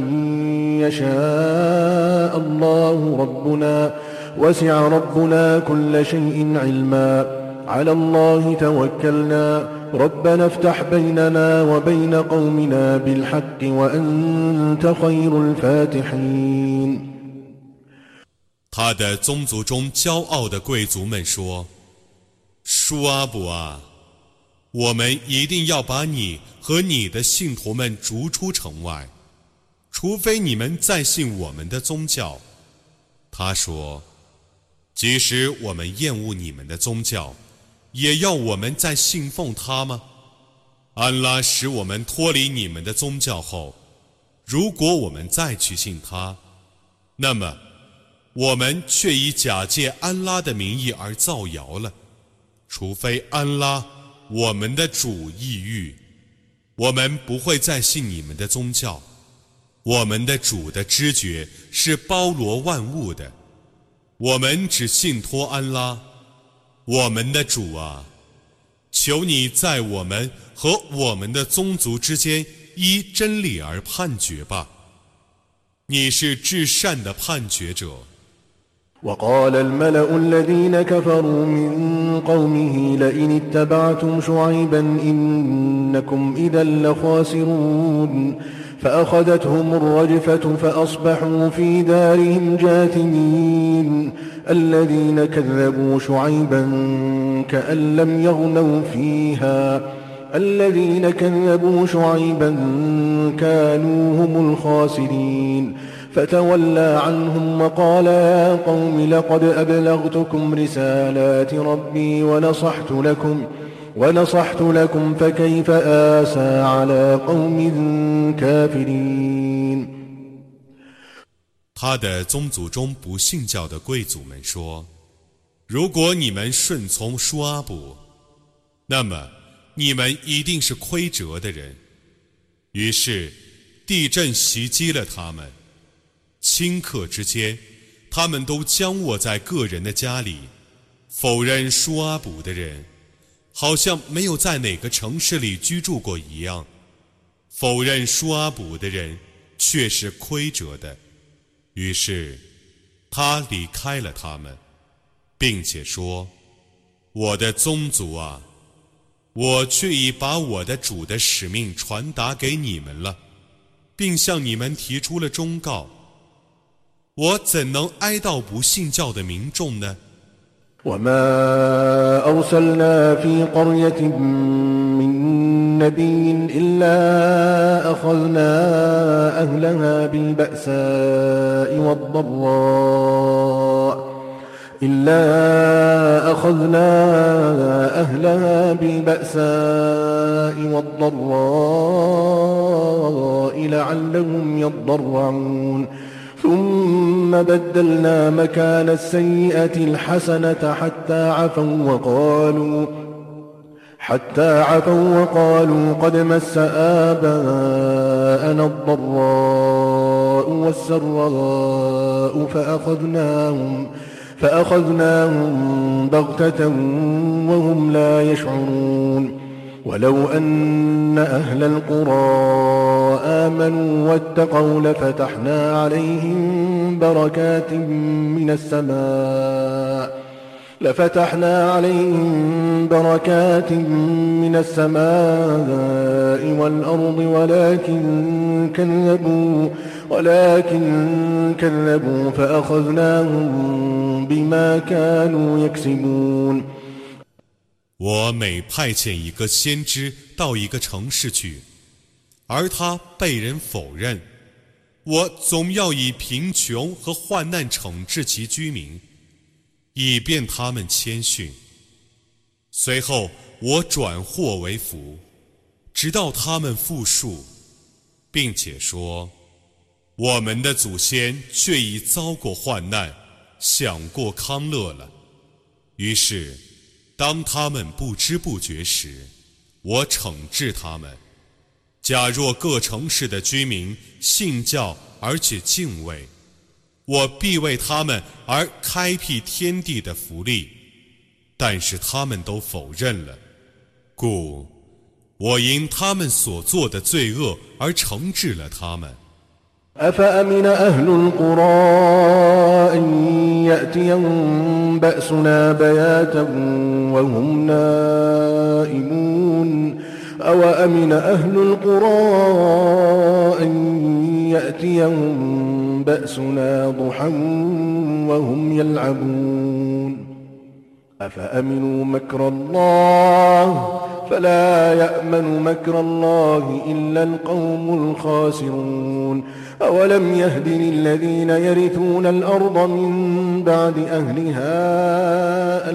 يشاء الله ربنا وسع ربنا كل شيء علما على الله توكلنا ربنا افتح بيننا وبين قومنا بالحق وأنت خير الفاتحين。 他的宗族中骄傲的贵族们说：舒阿卜啊，我们一定要把你和你的信徒们逐出城外，除非你们再信我们的宗教。他说：即使我们厌恶你们的宗教，也要我们再信奉他吗？安拉使我们脱离你们的宗教后，如果我们再去信他，那么我们却以假借安拉的名义而造谣了。除非安拉我们的主抑郁，我们不会再信你们的宗教。我们的主的知觉是包罗万物的，我们只信托安拉。我们的主啊，求你在我们和我们的宗族之间依真理而判决吧，你是至善的判决者。 وقال الملأ الذين كفروا من قومه لئن اتبعتم شعيبا إنكم إذا لخاسرون فأخذتهم الرجفة فأصبحوا في دارهم جاثمين الذين كذبوا شعيبا كأن لم يغنوا فيها الذين كذبوا شعيبا كانوا هم الخاسرين فتولى عنهم وقال يا قوم لقد أبلغتكم رسالات ربي ونصحت لكم فكيف آسى على قوم كافرين。 他的宗族中不信教的贵族们说：如果你们顺从舒阿卜，那么你们一定是亏折的人。于是地震袭击了他们，顷刻之间，他们都僵卧在个人的家里。否认舒阿卜的人，好像没有在哪个城市里居住过一样。否认舒阿卜的人却是亏折的。于是他离开了他们，并且说：我的宗族啊，我却已把我的主的使命传达给你们了，并向你们提出了忠告。我怎能哀悼不信教的民众呢 وما أرسلنا في قرية من نبي إلا أخذنا أهلها بالبأساء والضراء لعلهم يضرعون ثم بدلنا مكان السيئة الحسنة حتى عفوا وقالوا قد مس آباءنا الضراء والسراء فأخذناهم بغتة وهم لا يشعرون ولو أن أهل القرى آمنوا واتقوا لفتحنا عليهم بركات من السماء والأرض ولكن كذبوا فأخذناهم بما كانوا يكسبون。 我每派遣一个先知到一个城市去，而他被人否认，我总要以贫穷和患难惩治其居民，以便他们谦逊。随后我转祸为福，直到他们复述，并且说：我们的祖先却已遭过患难，享过康乐了。于是当他们不知不觉时，我惩治他们。假若各城市的居民信教而且敬畏，我必为他们而开辟天地的福利。 但是他们都否认了，故我因他们所做的罪恶而惩治了他们。 أفأمن أهل القرى أن يأتيهم بأسنا بياتا وهم نائمون أوأمن أهل القرى أن يأتيهم بأسنا ضحى وهم يلعبون أفأمنوا مكر الله فلا يأمن مكر الله إلا القوم الخاسرون أولم يهد للذين يرثون الأرض من بعد أهلها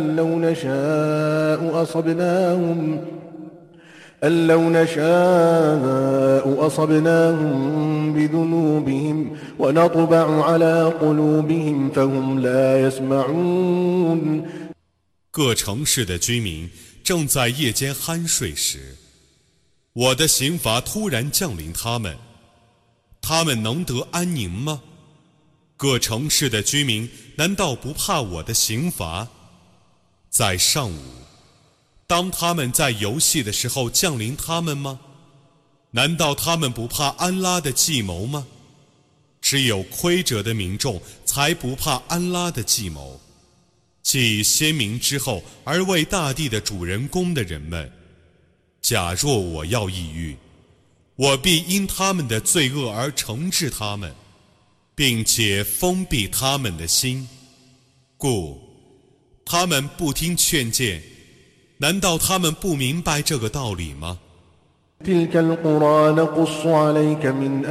أن لو نشاء أصبناهم بذنوبهم ونطبع على قلوبهم فهم لا يسمعون。 各城市的居民正在夜间酣睡时，我的刑罚突然降临他们，他们能得安宁吗？各城市的居民难道不怕我的刑罚？在上午，当他们在游戏的时候降临他们吗？难道他们不怕安拉的计谋吗？只有亏折的民众才不怕安拉的计谋。继先民之后而为大地的主人公的人们，假若我要抑郁，我必因他们的罪恶而惩治他们，并且封闭他们的心，故他们不听劝谏。难道他们不明白这个道理吗？ تلك القرى نقص عليك من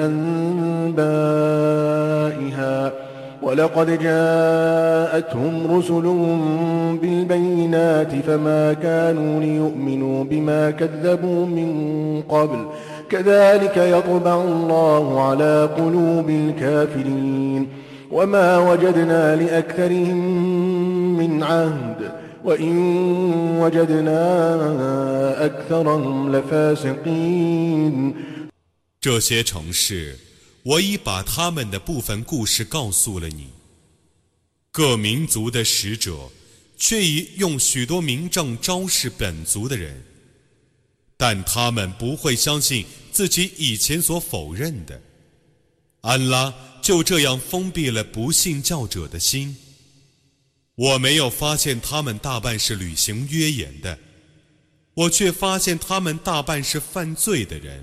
أنبائها ولقد جاءتهم رسلهم بالبينات فما كانوا ليؤمنوا بما كذبوا من قبل كذلك يطبع الله على قلوب الكافرين وما وجدنا لأكثرهم من عهد وإن وجدنا أكثرهم لفاسقين。 这些城市我已把他们的部分故事告诉了你，各民族的使者却已用许多明证昭示本族的人，但他们不会相信自己以前所否认的。安拉就这样封闭了不信教者的心。我没有发现他们大半是履行约言的，我却发现他们大半是犯罪的人。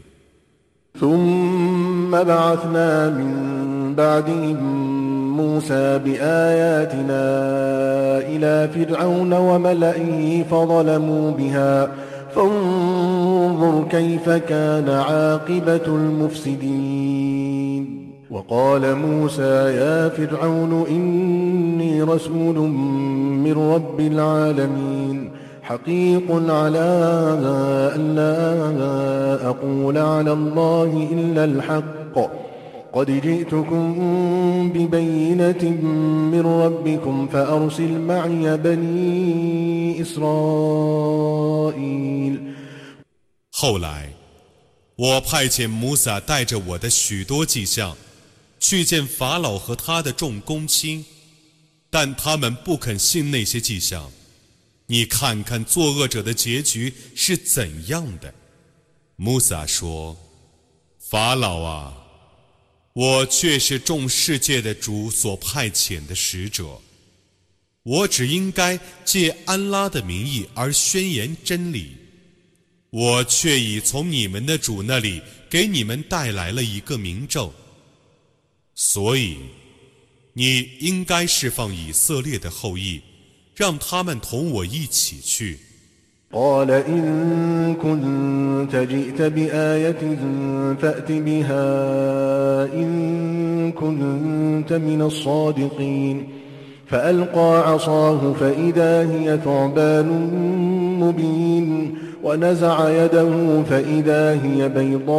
ثم بعثنا من بعدهم موسى بآياتنا إلى فرعون وملئه فظلموا بها فانظر كيف كان عاقبة المفسدين. وقال موسى يا فرعون إني رسول من رب العالمين حقيق على أن لا أقول على الله إلا الحق قد جئتكم ببينة من ربكم فأرسل معي بني إسرائيل. 后来我派遣摩萨带着我的许多迹象去见法老和他的众公卿，但他们不肯信那些迹象。你看看作恶者的结局是怎样的。穆萨说，法老啊，我却是众世界的主所派遣的使者，我只应该借安拉的名义而宣言真理，我却已从你们的主那里给你们带来了一个明证，所以你应该释放以色列的后裔，让他们同我一起去。 قال إن كنت جئت بآية فأت بها إن كنت من الصادقين فألقى عصاه فإذا هي ثعبان مبين ونزع يده فإذا هي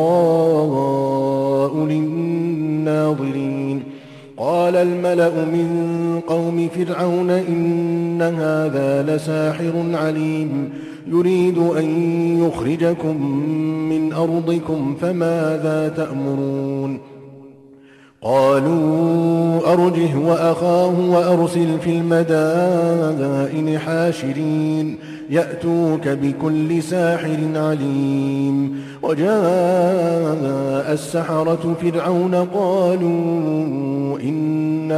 بيضاء للناظرين قال الملأ من قوم فرعون إن هذا لساحر عليم يريد أن يخرجكم من أرضكم فماذا تأمرون قالوا أرجه وأخاه وأرسل في المدائن حاشرين يأتوك بكل ساحر عليم وجاء السحرة فرعون قالوا إن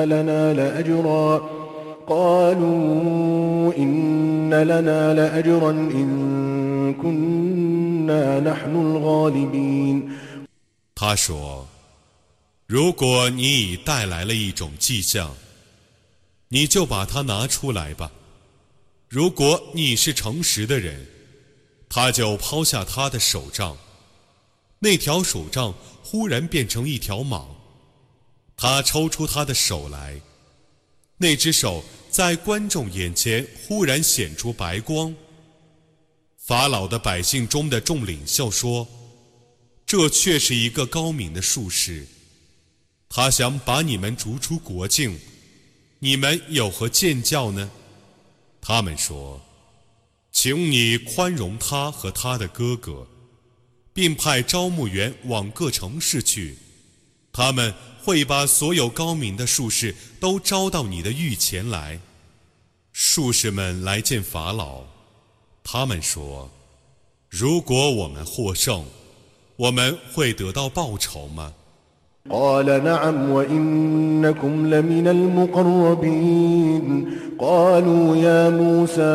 لنا لأجرا إن كنا نحن الغالبين 他说，如果你已带来了一种迹象，你就把它拿出来吧。如果你是诚实的人，他就抛下他的手杖，那条手杖忽然变成一条蟒，他抽出他的手来，那只手在观众眼前忽然显出白光。法老的百姓中的众领袖说，这却是一个高明的术士，他想把你们逐出国境，你们有何见教呢？他们说，请你宽容他和他的哥哥，并派招募员往各城市去，他们会把所有高明的术士都招到你的御前来。术士们来见法老，他们说，如果我们获胜，我们会得到报酬吗？ قال نعم وإنكم لمن المقربين قالوا يا موسى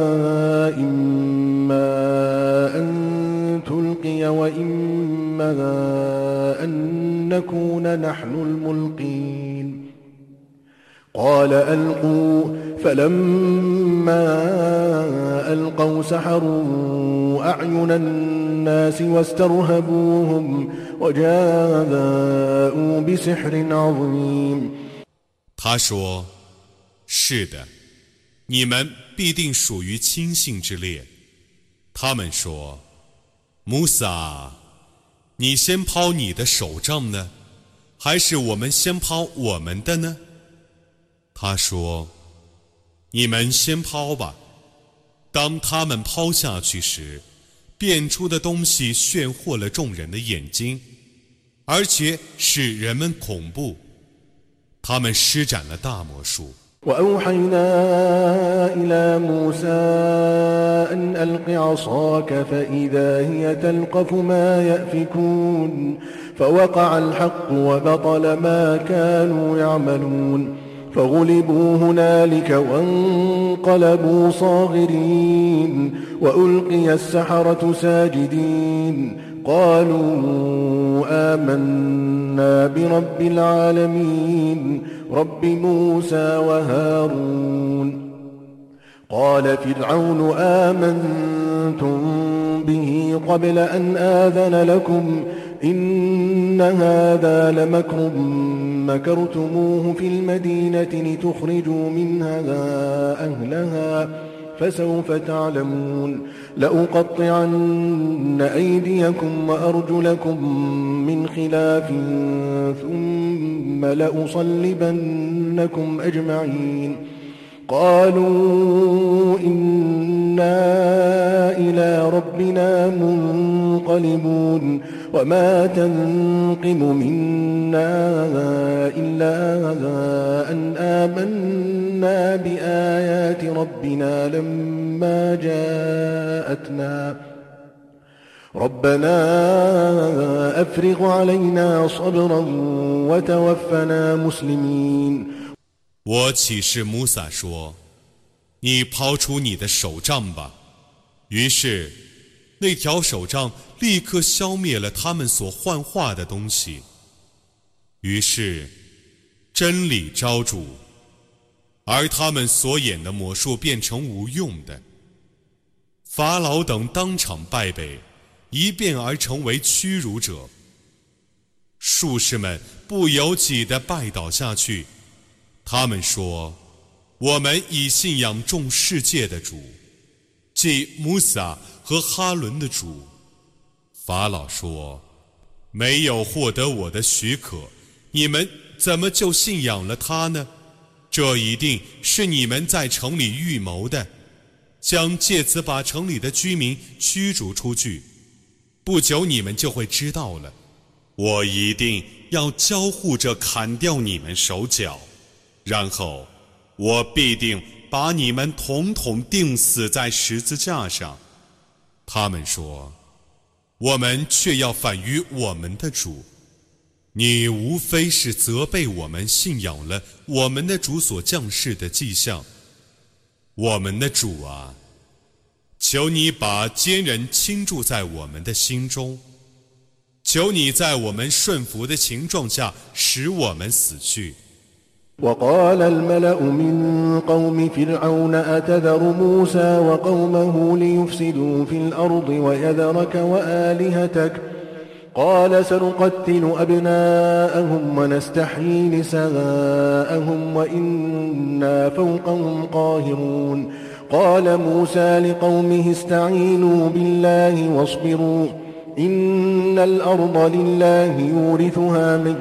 إما أن تلقي وإما أن نكون نحن الملقين قال ألقوا فلما ألقوا سحروا أعين الناس واسترهبوهم وجاءوا بسحر عظيم 他说，是的，你们必定属于亲信之列。他们说，穆萨，你先抛你的手杖呢，还是我们先抛我们的呢？他说，你们先抛吧。当他们抛下去时，变出的东西炫惑了众人的眼睛，而且使人们恐怖。他们施展了大魔术。 وأوحينا إلى موسى أن ألق عصاك فإذا هي تلقف ما يأفكون فوقع الحق وبطل ما كانوا يعملون فغلبوا هنالك وانقلبوا صاغرين وألقي السحرة ساجدين قالوا آمنا برب العالمين رب موسى وهارون قال فرعون آمنتم به قبل أن آذن لكم إن هذا لمكر مكرتموه في المدينة لتخرجوا منها أهلها فسوف تعلمون لأقطعن أيديكم وأرجلكم من خلاف ثم لأصلبنكم أجمعين قالوا إنا إلى ربنا منقلبون وما تنقم منا إلا أن آمنا بآيات ربنا لما جاءتنا ربنا أفرغ علينا صبرا وتوفنا مسلمين 我启示穆萨说，你抛出你的手杖吧。于是那条手杖立刻消灭了他们所幻化的东西，于是真理昭著，而他们所演的魔术变成无用的。法老等当场败北，一变而成为屈辱者。术士们不由己地拜倒下去，他们说，我们已信仰众世界的主，即穆萨和哈伦的主。法老说，没有获得我的许可，你们怎么就信仰了他呢？这一定是你们在城里预谋的，想借此把城里的居民驱逐出去。不久你们就会知道了，我一定要交互着砍掉你们手脚，然后我必定把你们统统钉死在十字架上。他们说，我们却要反于我们的主，你无非是责备我们信仰了我们的主所降世的迹象。我们的主啊，求你把坚韧倾注在我们的心中，求你在我们顺服的情状下使我们死去。 وقال الملأ من قوم فرعون أتذر موسى وقومه ليفسدوا في الأرض ويذرك وآلهتك قال سنقتل أبناءهم ونستحيي نساءهم وإنا فوقهم قاهرون قال موسى لقومه استعينوا بالله واصبروا إن الأرض لله يورثها من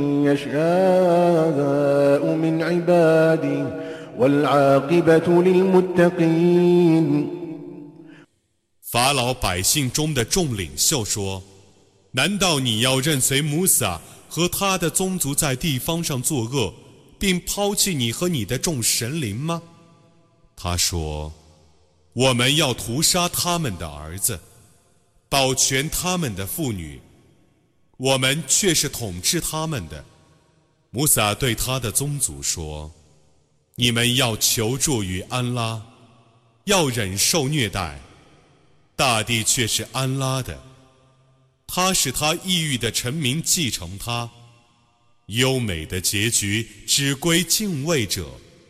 يشاء من عباده والعاقبة للمتقين。 法老百姓中的众领袖说，难道你要任随穆萨和他的宗族在地方上作恶，并抛弃你和你的众神灵吗？他说，我们要屠杀他们的儿子，保全他们的妇女，我们却是统治他们的。穆萨对他的宗族说，你们要求助于安拉，要忍受虐待，大地却是安拉的，他使他抑郁的臣民继承他，优美的结局只归敬畏者。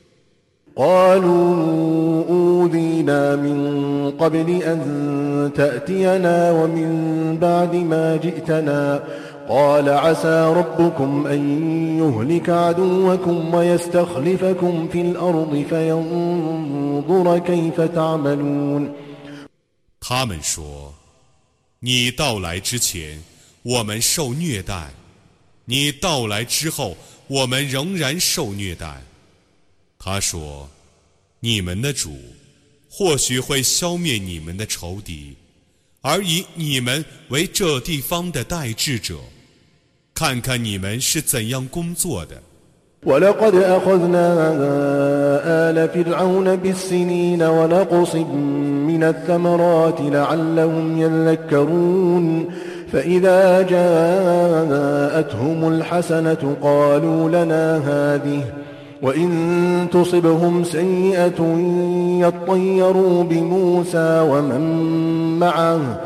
قالوا أوذينا من قبل أن تأتينا ومن بعد ما جئتنا قال عسى ربكم أن يهلك عدوكم ويستخلفكم في الأرض فينظر كيف تعملون。 他们说，你到来之前我们受虐待，你到来之后我们仍然受虐待。他说，你们的主或许会消灭你们的仇敌，而以你们为这地方的代治者，看看你们是怎样工作的。 ولقد أخذنا آل فرعون بالسنين ونقص من الثمرات لعلهم يذكرون فإذا جاءتهم الحسنة قالوا لنا هذه وإن تصبهم سيئة يطيروا بموسى ومن معه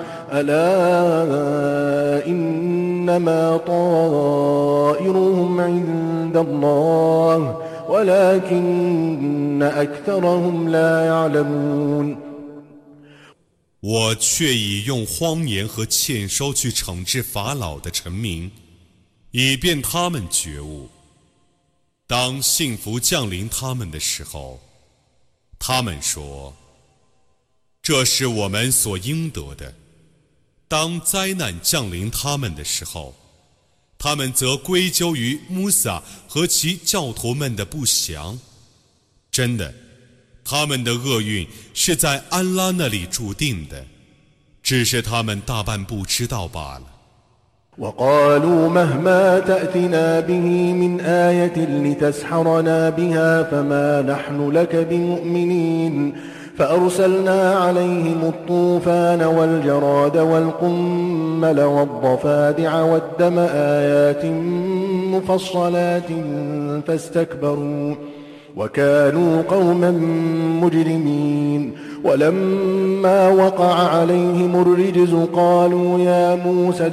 ألا إنما طائرهم عند الله ولكن أكثرهم لا يعلمون。 我却已用荒言和欠收去惩治法老的臣民，以便他们觉悟。当幸福降临他们的时候，他们说，这是我们所应得的。当灾难降临他们的时候，他们则归咎于穆萨和其教徒们的不祥。真的，他们的厄运是在安拉那里注定的，只是他们大半不知道罢了。 وقالوا مهما تأتنا به من آية لتسحرنا بها فما نحن لك بمؤمنين فأرسلنا عليهم الطوفان والجراد والقمل والضفادع والدم آيات مفصلات فاستكبروا وكانوا قوما مجرمين ولما وقع عليهم الرجز قالوا يا موسى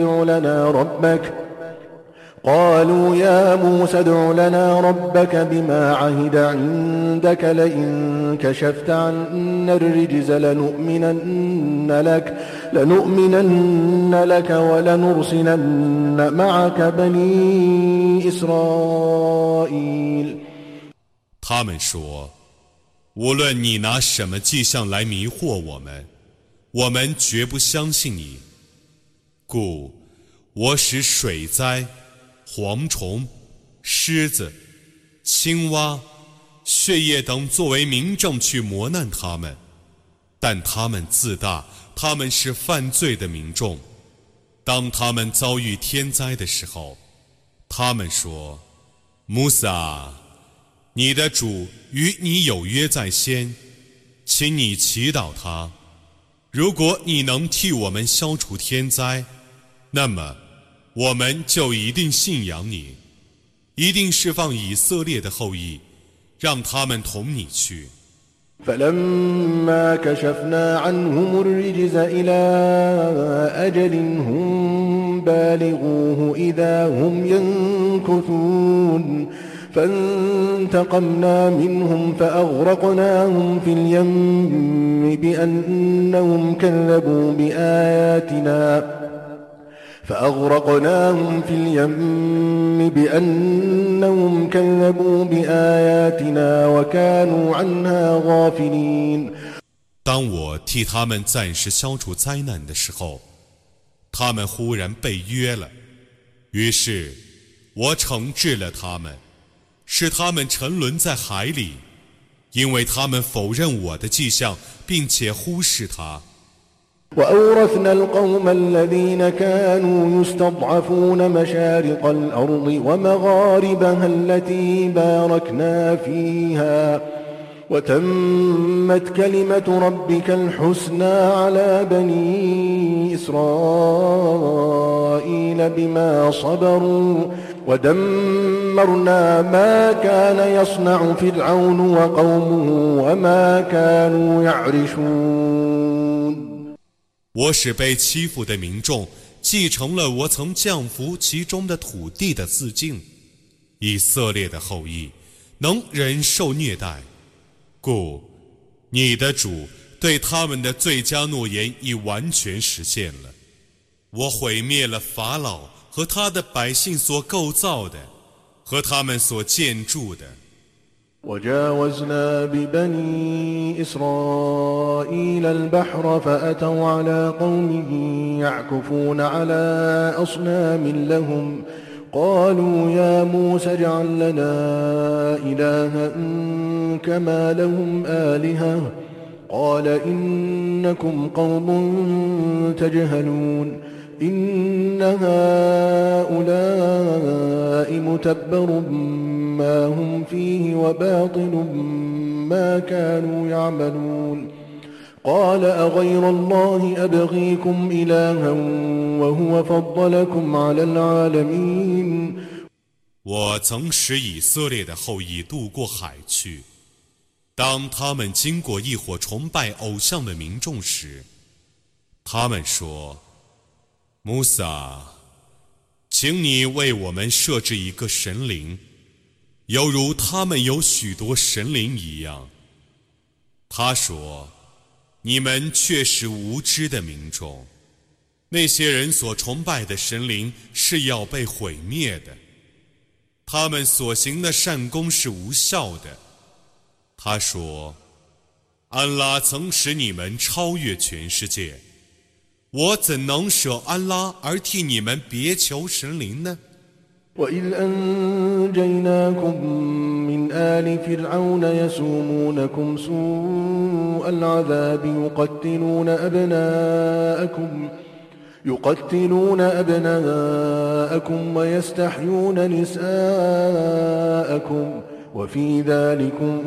ادع لنا ربك بما عهد عندك لئن كشفت عنا الرجز لنؤمنن لك ولنرسلن معك بني إسرائيل。 他们说，无论你拿什么迹象来迷惑我们，我们绝不相信你。故我使水灾、蝗虫、狮子、青蛙、血液等作为明证去磨难他们，但他们自大，他们是犯罪的民众。当他们遭遇天灾的时候，他他们说：穆萨，你的主与你有约在先，请你祈祷他。如果你能替我们消除天灾，那么我们就一定信仰你，一定释放以色列的后裔，让他们同你去。 فلما كشفنا عنهم الرجز إلى أجل هم بالغوه إذا هم ينكثون فانتقمنا منهم فأغرقناهم في اليم بأنهم كذبوا بآياتنا وكانوا عنها غافلين 当我替他们暂时消除灾难的时候，他们忽然被约了，于是我惩治了他们，使他们沉沦在海里，因为他们否认我的迹象，并且忽视它。 وأورثنا القوم الذين كانوا يستضعفون مشارق الأرض ومغاربها التي باركنا فيها وتمت كلمة ربك الحسنى على بني إسرائيل بما صبروا ودمرنا ما كان يصنع فرعون وقومه وما كانوا يعرشون 我使被欺负的民众继承了我曾降服其中的土地的自敬，以色列的后裔能忍受虐待，故你的主对他们的最佳诺言已完全实现了。我毁灭了法老和他的百姓所构造的和他们所建筑的。 وجاوزنا ببني إسرائيل البحر فأتوا على قوم يعكفون على أصنام لهم قالوا يا موسى اجعل لنا إلها كما لهم آلهة قال إنكم قوم تجهلون إن هؤلاء متبر ما هم فيه وباطل ما كانوا يعملون قال أغير الله أبغيكم إلها وهو فضلكم على العالمين 我曾使以色列的后裔渡过海去，当他们经过一伙崇拜偶像的民众时，他们说：穆萨，请你为我们设置一个神灵，犹如他们有许多神灵一样。他说：你们却是无知的民众，那些人所崇拜的神灵是要被毁灭的，他们所行的善功是无效的。他说：安拉曾使你们超越全世界，我怎能舍安拉而替你们别求神灵呢？ وإذ أنجيناكم من آل فرعون يسومونكم سوء العذاب يقتلون أبناءكم ويستحيون نساءكم وفي ذلكم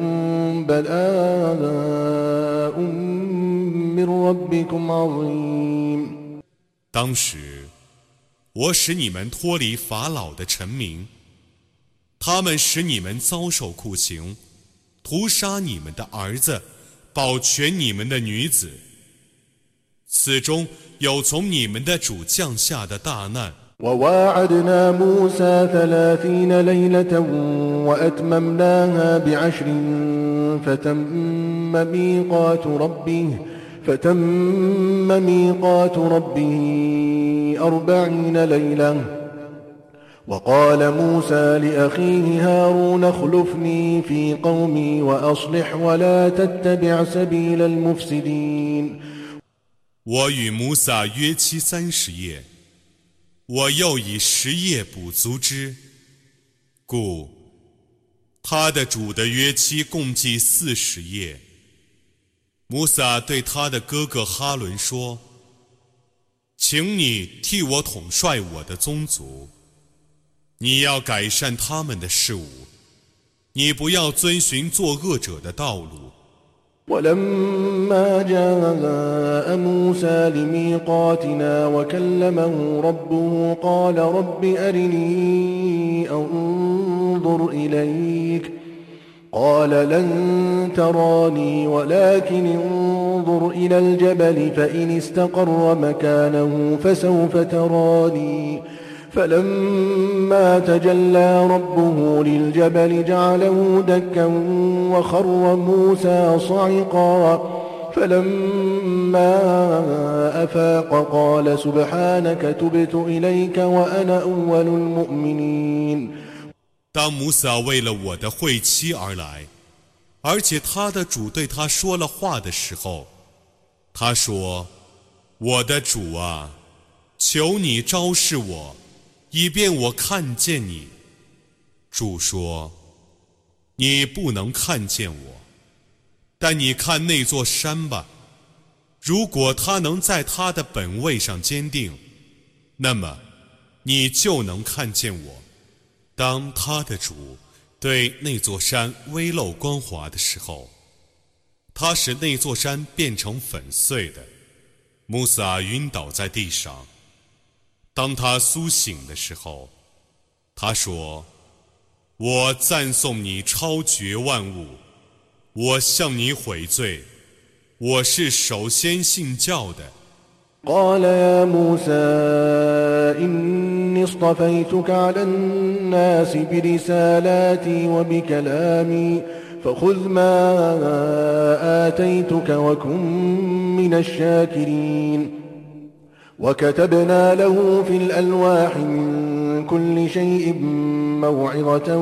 بلاء من ربكم عظيم 当时我使你们脱离法老的臣民，他们使你们遭受酷刑，屠杀你们的儿子，保全你们的女子，此中有从你们的主降下的大难。 وواعدنا موسى 30 ليلة وأتممناها ب10 فتم ميقات ربه 40 ليلة وقال موسى لأخيه هارون اخلفني في قومي وأصلح ولا تتبع سبيل المفسدين 我与穆萨约期30夜，我又以10夜补足之，故他的主的约期共计40夜。穆萨对他的哥哥哈伦说：请你替我统帅我的宗族， 你要改善他们的事物，你不要遵循作恶者的道路。 ولما جاء موسى لميقاتنا وكلمه ربه قال رب أرني أنظر إليك قال لن تراني ولكن انظر إلى الجبل فإن استقر مكانه فسوف تراني فلما تجلى ربه للجبل جعله دكا وخر موسى صعقا فلما أفاق قال سبحانك تبت إليك وأنا أول المؤمنين。 当摩萨为了我的会期而来，而且他的主对他说了话的时候，他说：“我的主啊，求你昭示我，以便我看见你。”主说：“你不能看见我，但你看那座山吧。如果它能在它的本位上坚定，那么你就能看见我。”当他的主对那座山微露光华的时候，他使那座山变成粉碎的。穆萨晕倒在地上。当他苏醒的时候，他说：“我赞颂你超绝万物，我向你悔罪，我是首先信教的。” قال يا موسى إني اصطفيتك على الناس برسالاتي وبكلامي فخذ ما آتيتك وكن من الشاكرين وكتبنا له في الألواح من كل شيء موعظة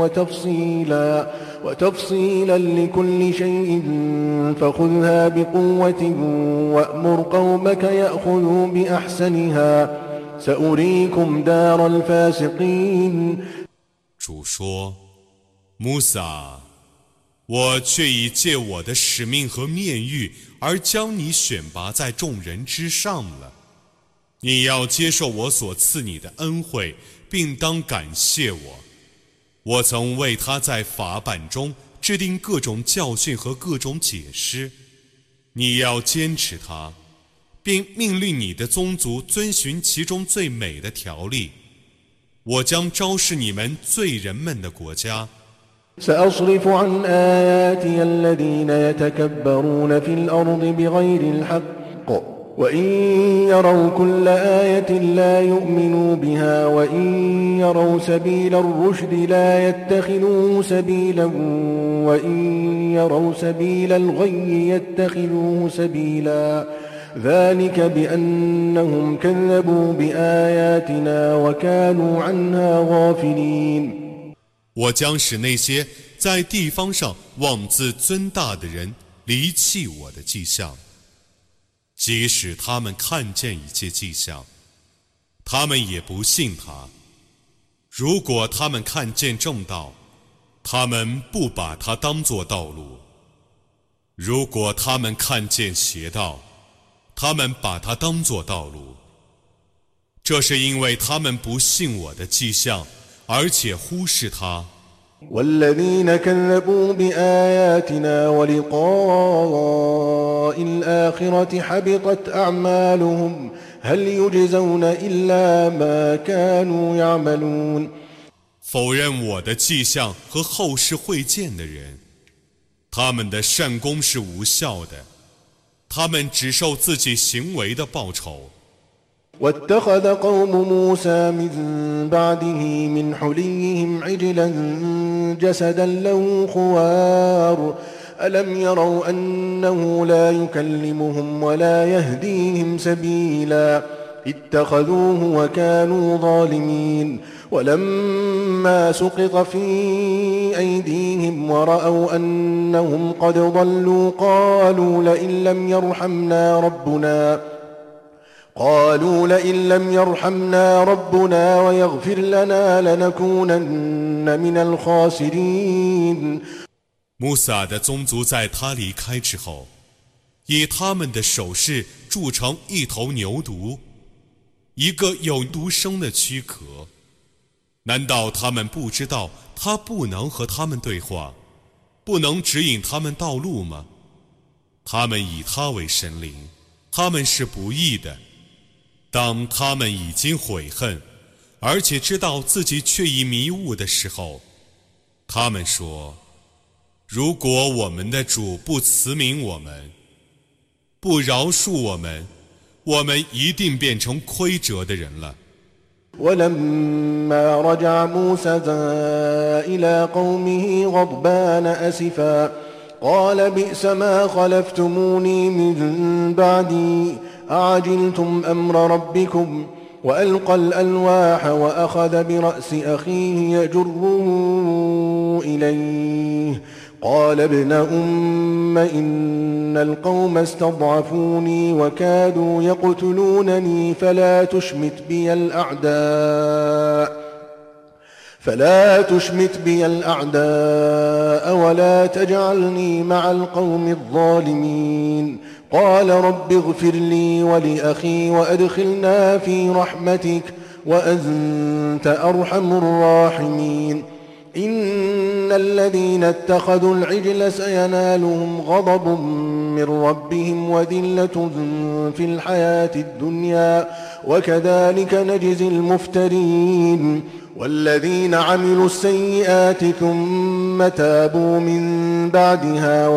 وتفصيلا لكل شيء فخذها بقوة وأمر قومك يأخذوا بأحسنها سأريكم دار الفاسقين。 主说：“穆萨，我却已借我的使命和面谕而将你选拔在众人之上了。你要接受我所赐你的恩惠，并当感谢我。我曾为他在法版中制定各种教训和各种解释，你要坚持它，并命令你的宗族遵循其中最美的条例。我将昭示你们罪人们的国家。” سأصرف عن آياتي الذين يتكبرون في الأرض بغير الحق وإن يروا كل آية لا يؤمنوا بها وإن يروا سبيل الرشد لا يتخذوه سبيلا وإن يروا سبيل الغي يتخذوه سبيلا ذلك بأنهم كذبوا بآياتنا وكانوا عنها غافلين。 我将使那些在地方上妄自尊大的人离弃我的迹象，即使他们看见一切迹象，他们也不信他。如果他们看见正道，他们不把它当作道路；如果他们看见邪道，他们把它当作道路。这是因为他们不信我的迹象，而且忽视它。 والذين كذبوا بآياتنا ولقاء الآخرة حبطت أعمالهم هل يجزون إلا ما كانوا يعملون。 否认我的迹象和后世会见的人，他们的善功是无效的，他们只受自己行为的报酬。 واتخذ قوم موسى من بعده من حليهم عجلا جسدا له خوار ألم يروا أنه لا يكلمهم ولا يهديهم سبيلا اتخذوه وكانوا ظالمين ولما سقط في أيديهم ورأوا أنهم قد ضلوا قالوا لئن لم يرحمنا ربنا ويغفر لنا لنكونن من الخاسرين。 穆萨的宗族在他离开之后，以他们的手势铸成一头牛犊，一个有毒生的躯壳。 难道他们不知道他不能和他们对话，不能指引他们道路吗？他们以他为神灵，他们是不义的。当他们已经悔恨，而且知道自己却已迷雾的时候，他们说：如果我们的主不慈悯我们，不饶恕我们，我们一定变成亏折的人了。 ولما رجع موسى إلى قومه غضبان أسفا قال بئس ما خلفتموني من بعدي أعجلتم أمر ربكم وألقى الألواح وأخذ برأس أخيه يجره إليه قال ابن أم إن القوم استضعفوني وكادوا يقتلونني فلا تشمت بي الأعداء ولا تجعلني مع القوم الظالمين قال رب اغفر لي ولأخي وأدخلنا في رحمتك وأنت أرحم الراحمين إن الذين اتخذوا العجل سينالهم غضب من ربهم وذلة في الحياة الدنيا وكذلك نجزي المفترين والذين عملوا السيئات ثم تابوا من بعدها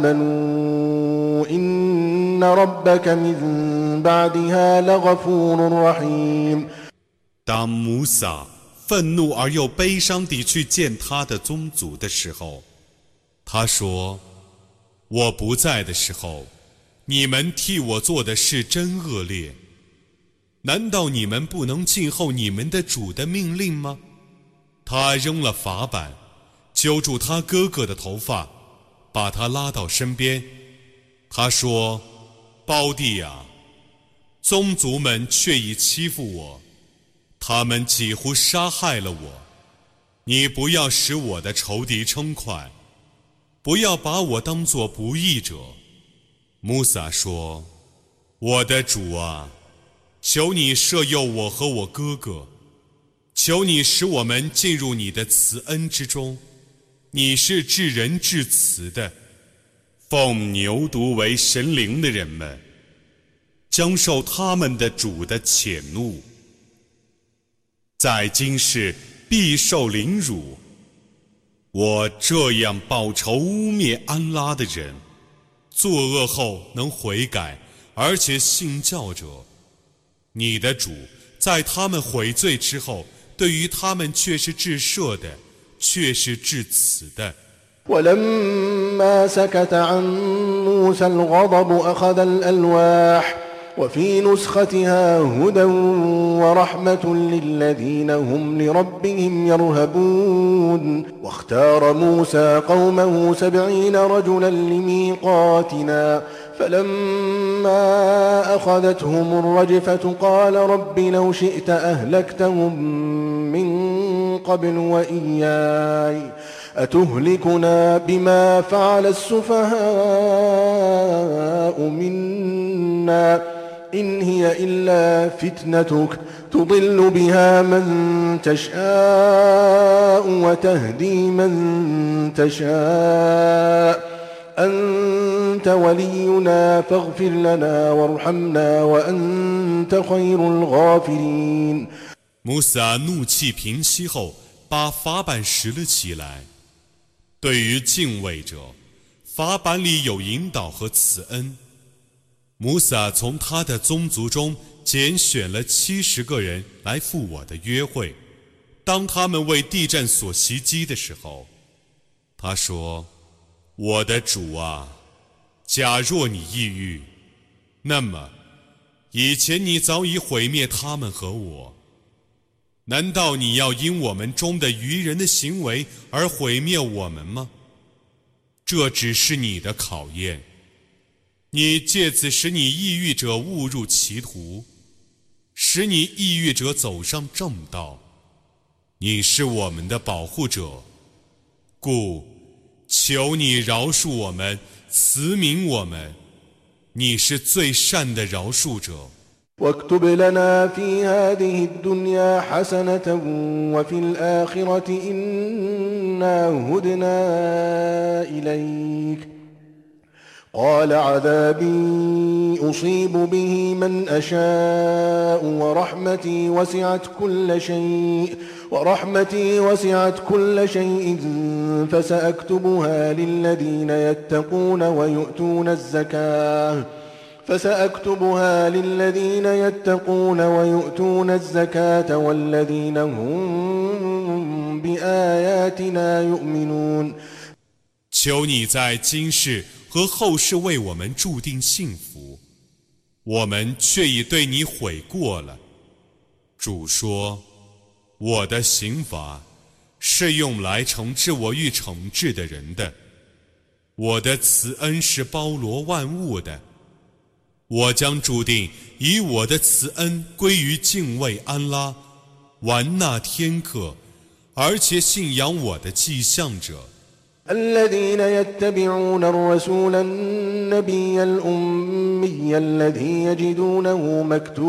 وآمنوا إن ربك من بعدها لغفور رحيم。 当摩萨愤怒而又悲伤地去见他的宗族的时候，他说：我不在的时候，你们替我做的事真恶劣，难道你们不能静候你们的主的命令吗？他扔了法板，揪住他哥哥的头发，把他拉到身边。他说：胞弟啊，宗族们却已欺负我，他们几乎杀害了我，你不要使我的仇敌称快，不要把我当作不义者。穆萨说：我的主啊，求你赦宥我和我哥哥，求你使我们进入你的慈恩之中，你是至仁至慈的。奉牛犊为神灵的人们将受他们的主的谴怒，在今世必受凌辱。我这样报仇污蔑安拉的人，作恶后能悔改而且信教者，你的主在他们悔罪之后，对于他们却是至赦的，却是至慈的。 ولما سكت عن موسى الغضب أخذ الألواح وفي نسختها هدى ورحمة للذين هم لربهم يرهبون واختار موسى قومه 70 رجلا لميقاتنا فلما أخذتهم الرجفة قال رب لو شئت أهلكتهم من قبل وإياي أتهلكنا بما فعل السفهاء منا إن هي إلا فتنتك تضل بها من تشاء وتهدي من تشاء أنت ولينا فاغفر لنا وارحمنا وأنت خير الغافرين。 穆萨怒气平息后，把法板拾了起来。对于敬畏者，法板里有引导和慈恩。穆萨从他的宗族中拣选了70个人来赴我的约会。当他们为地震所袭击的时候，他说：我的主啊，假若你抑郁，那么以前你早已毁灭他们和我，难道你要因我们中的愚人的行为而毁灭我们吗？这只是你的考验，你借此使你抑郁者误入歧途，使你抑郁者走上正道。你是我们的保护者，故求你饶恕我们，慈悯我们，你是最善的饶恕者。 واكتب لنا في هذه الدنيا حسنة وفي الآخرة إنا هدنا إليك قال عذابي أصيب به من أشاء ورحمتي وسعت كل شيء فسأكتبها للذين يتقون ويؤتون الزكاة والذين هم بآياتنا يؤمنون 求你在今世和后世为我们注定幸福，我们却已对你悔过了。主说，我的刑罚是用来惩治我欲惩治的人的，我的慈恩是包罗万物的，我将注定以我的慈恩归于敬畏安拉、玩纳天课，而且信仰我的迹象者。 الذين يتبعون الرسول النبي الأمي الذي يجدونه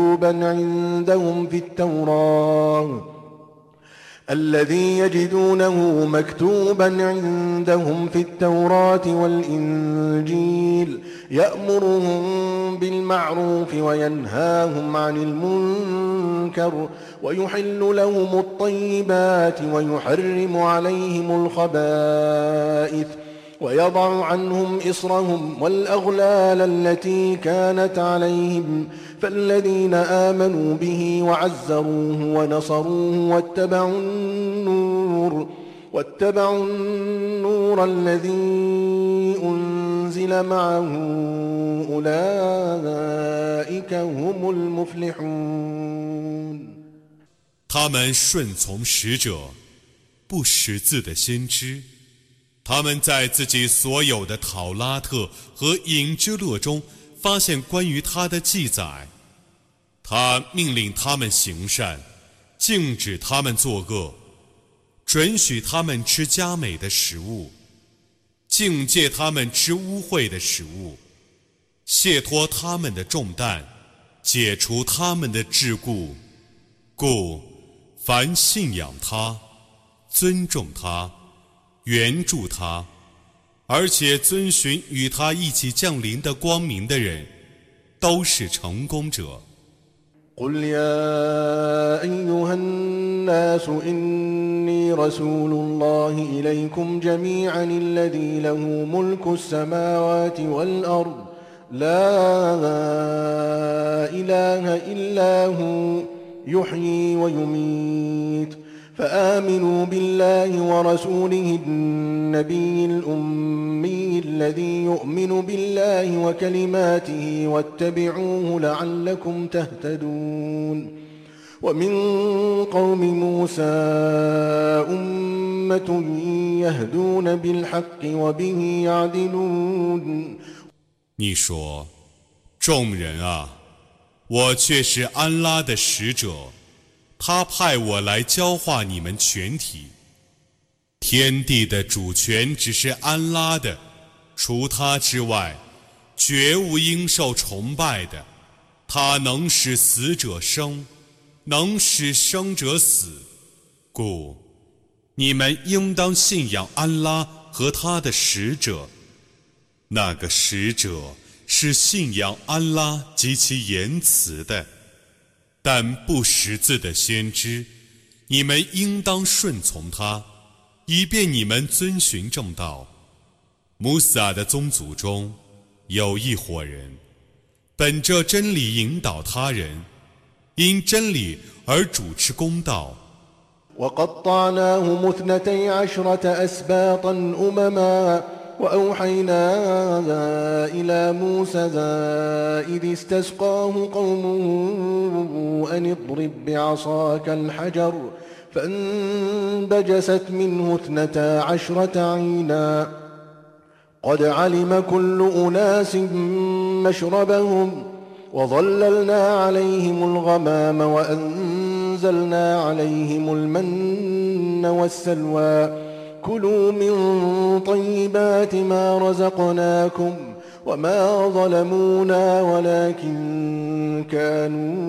مكتوبا عندهم في التوراة والإنجيل يأمرهم بالمعروف وينهاهم عن المنكر ويحل لهم الطيبات ويحرم عليهم الخبائث ويضع عنهم إصرهم والأغلال التي كانت عليهم فالذين آمنوا به وعزروه ونصروه واتبعوا النور الذي أنزل معه أولئك هم المفلحون 他们顺从使者，不识字的先知，他们在自己所有的讨拉特和隐之勒中发现关于他的记载。他命令他们行善，禁止他们作恶，准许他们吃佳美的食物，境戒他们吃污秽的食物，卸脱他们的重担，解除他们的桎梏。故凡信仰他、尊重他、援助他，而且遵循与他一起降临的光明的人，都是成功者。 قل يا أيها الناس إني رسول الله إليكم جميعا الذي له ملك السماوات والأرض لا إله إلا هو يحيي ويميت فآمنوا بالله ورسوله النبي الأمي الذي يؤمن بالله وكلماته واتبعوه لعلكم تهتدون ومن قوم موسى أمة يهدون بالحق وبه يعدلون 你说，众人啊，我却是安拉的使者，他派我来教化你们全体。天地的主权只是安拉的，除他之外，绝无应受崇拜的。他能使死者生，能使生者死。故你们应当信仰安拉和他的使者。那个使者是信仰安拉及其言辞的，但不识字的先知，你们应当顺从他，以便你们遵循正道。穆萨的宗族中有一伙人，本着真理引导他人，因真理而主持公道。 وقطعناهم 12 أسباطا أمما وأوحينا إلى موسى إذ استسقاه قومه أن اضرب بعصاك الحجر فانبجست منه 12 عينا قد علم كل أناس مشربهم وظللنا عليهم الغمام وأنزلنا عليهم المن والسلوى كلوا من طيبات ما رزقناكم وما ظلمونا ولكن كانوا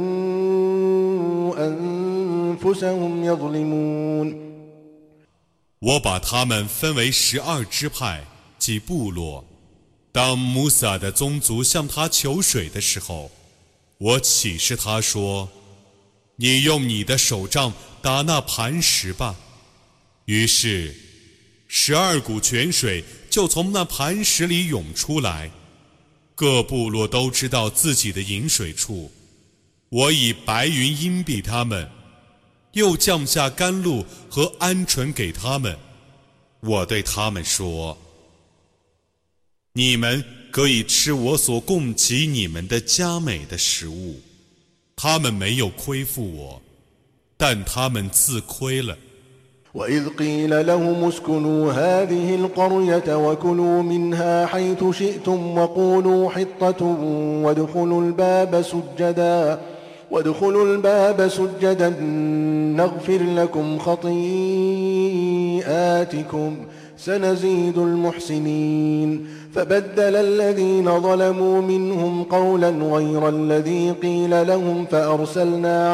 أنفسهم يظلمون。 我把他们分为12支派，即部落。当穆萨的宗族向他求水的时候，我启示他说：“你用你的手杖打那磐石吧。”于是12股泉水就从那磐石里涌出来，各部落都知道自己的饮水处。我以白云荫蔽他们，又降下甘露和鹌鹑给他们。我对他们说：你们可以吃我所供给你们的佳美的食物。他们没有亏负我，但他们自亏了。 وإذ قيل لهم اسكنوا هذه القرية وكلوا منها حيث شئتم وقولوا حطة وادخلوا الباب سجدا نغفر لكم خطيئاتكم سنزيد المحسنين فبدل الذين ظلموا منهم قولا غير الذي قيل لهم فأرسلنا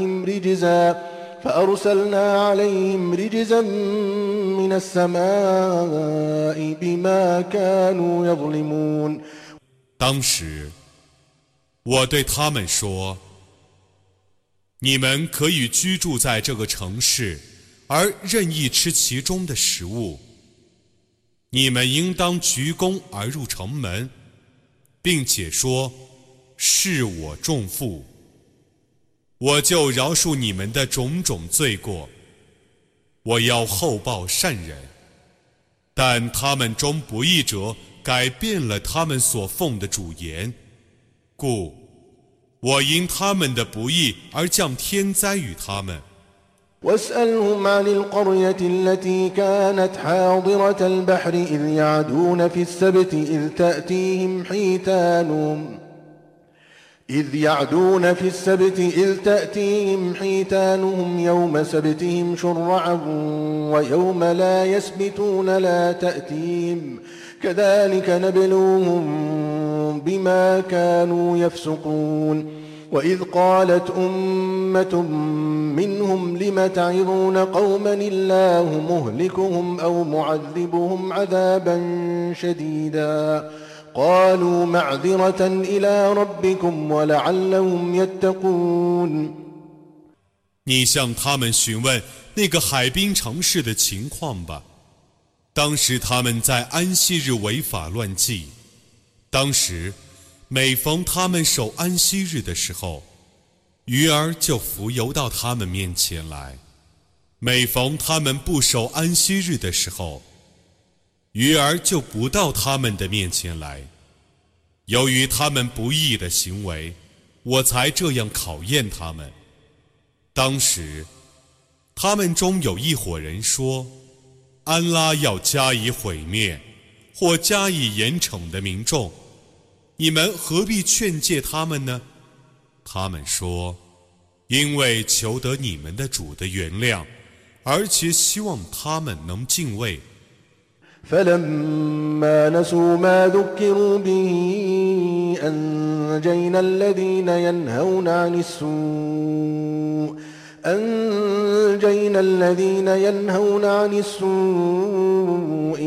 عليهم رجزا من السماء بما كانوا يظلمون。 当时我对他们说：你们可以居住在这个城市，而任意吃其中的食物。你们应当鞠躬而入城门，并且说：是我重负，我就饶恕你们的种种罪过。我要厚报善人，但他们中不义者改变了他们所奉的主言，故我因他们的不义而降天灾与他们。 واسألهم عن القرية التي كانت حاضرة البحر إذ يعدون في السبت إذ تأتيهم حيتانهم يوم سبتهم شرعا ويوم لا يسبتون لا تأتيهم كذلك نبلوهم بما كانوا يفسقون. وإذ قالت أمة منهم لم تعظون قوما الله مهلكهم أو معذبهم عذابا شديدا قالوا معذرة إلى ربكم ولعلهم يتقون。 你向他们询问那个海滨城市的情况吧。当时他们在安息日违法乱纪，当时每逢他们守安息日的时候，鱼儿就浮游到他们面前来；每逢他们不守安息日的时候，鱼儿就不到他们的面前来。由于他们不义的行为，我才这样考验他们。当时他们中有一伙人说：安拉要加以毁灭或加以严惩的民众，你们何必劝诫他们呢？他们说：因为求得你们的主的原谅，而且希望他们能敬畏。 فلما نسوا ما ذكروا به أنجينا الذين ينهون عن السوء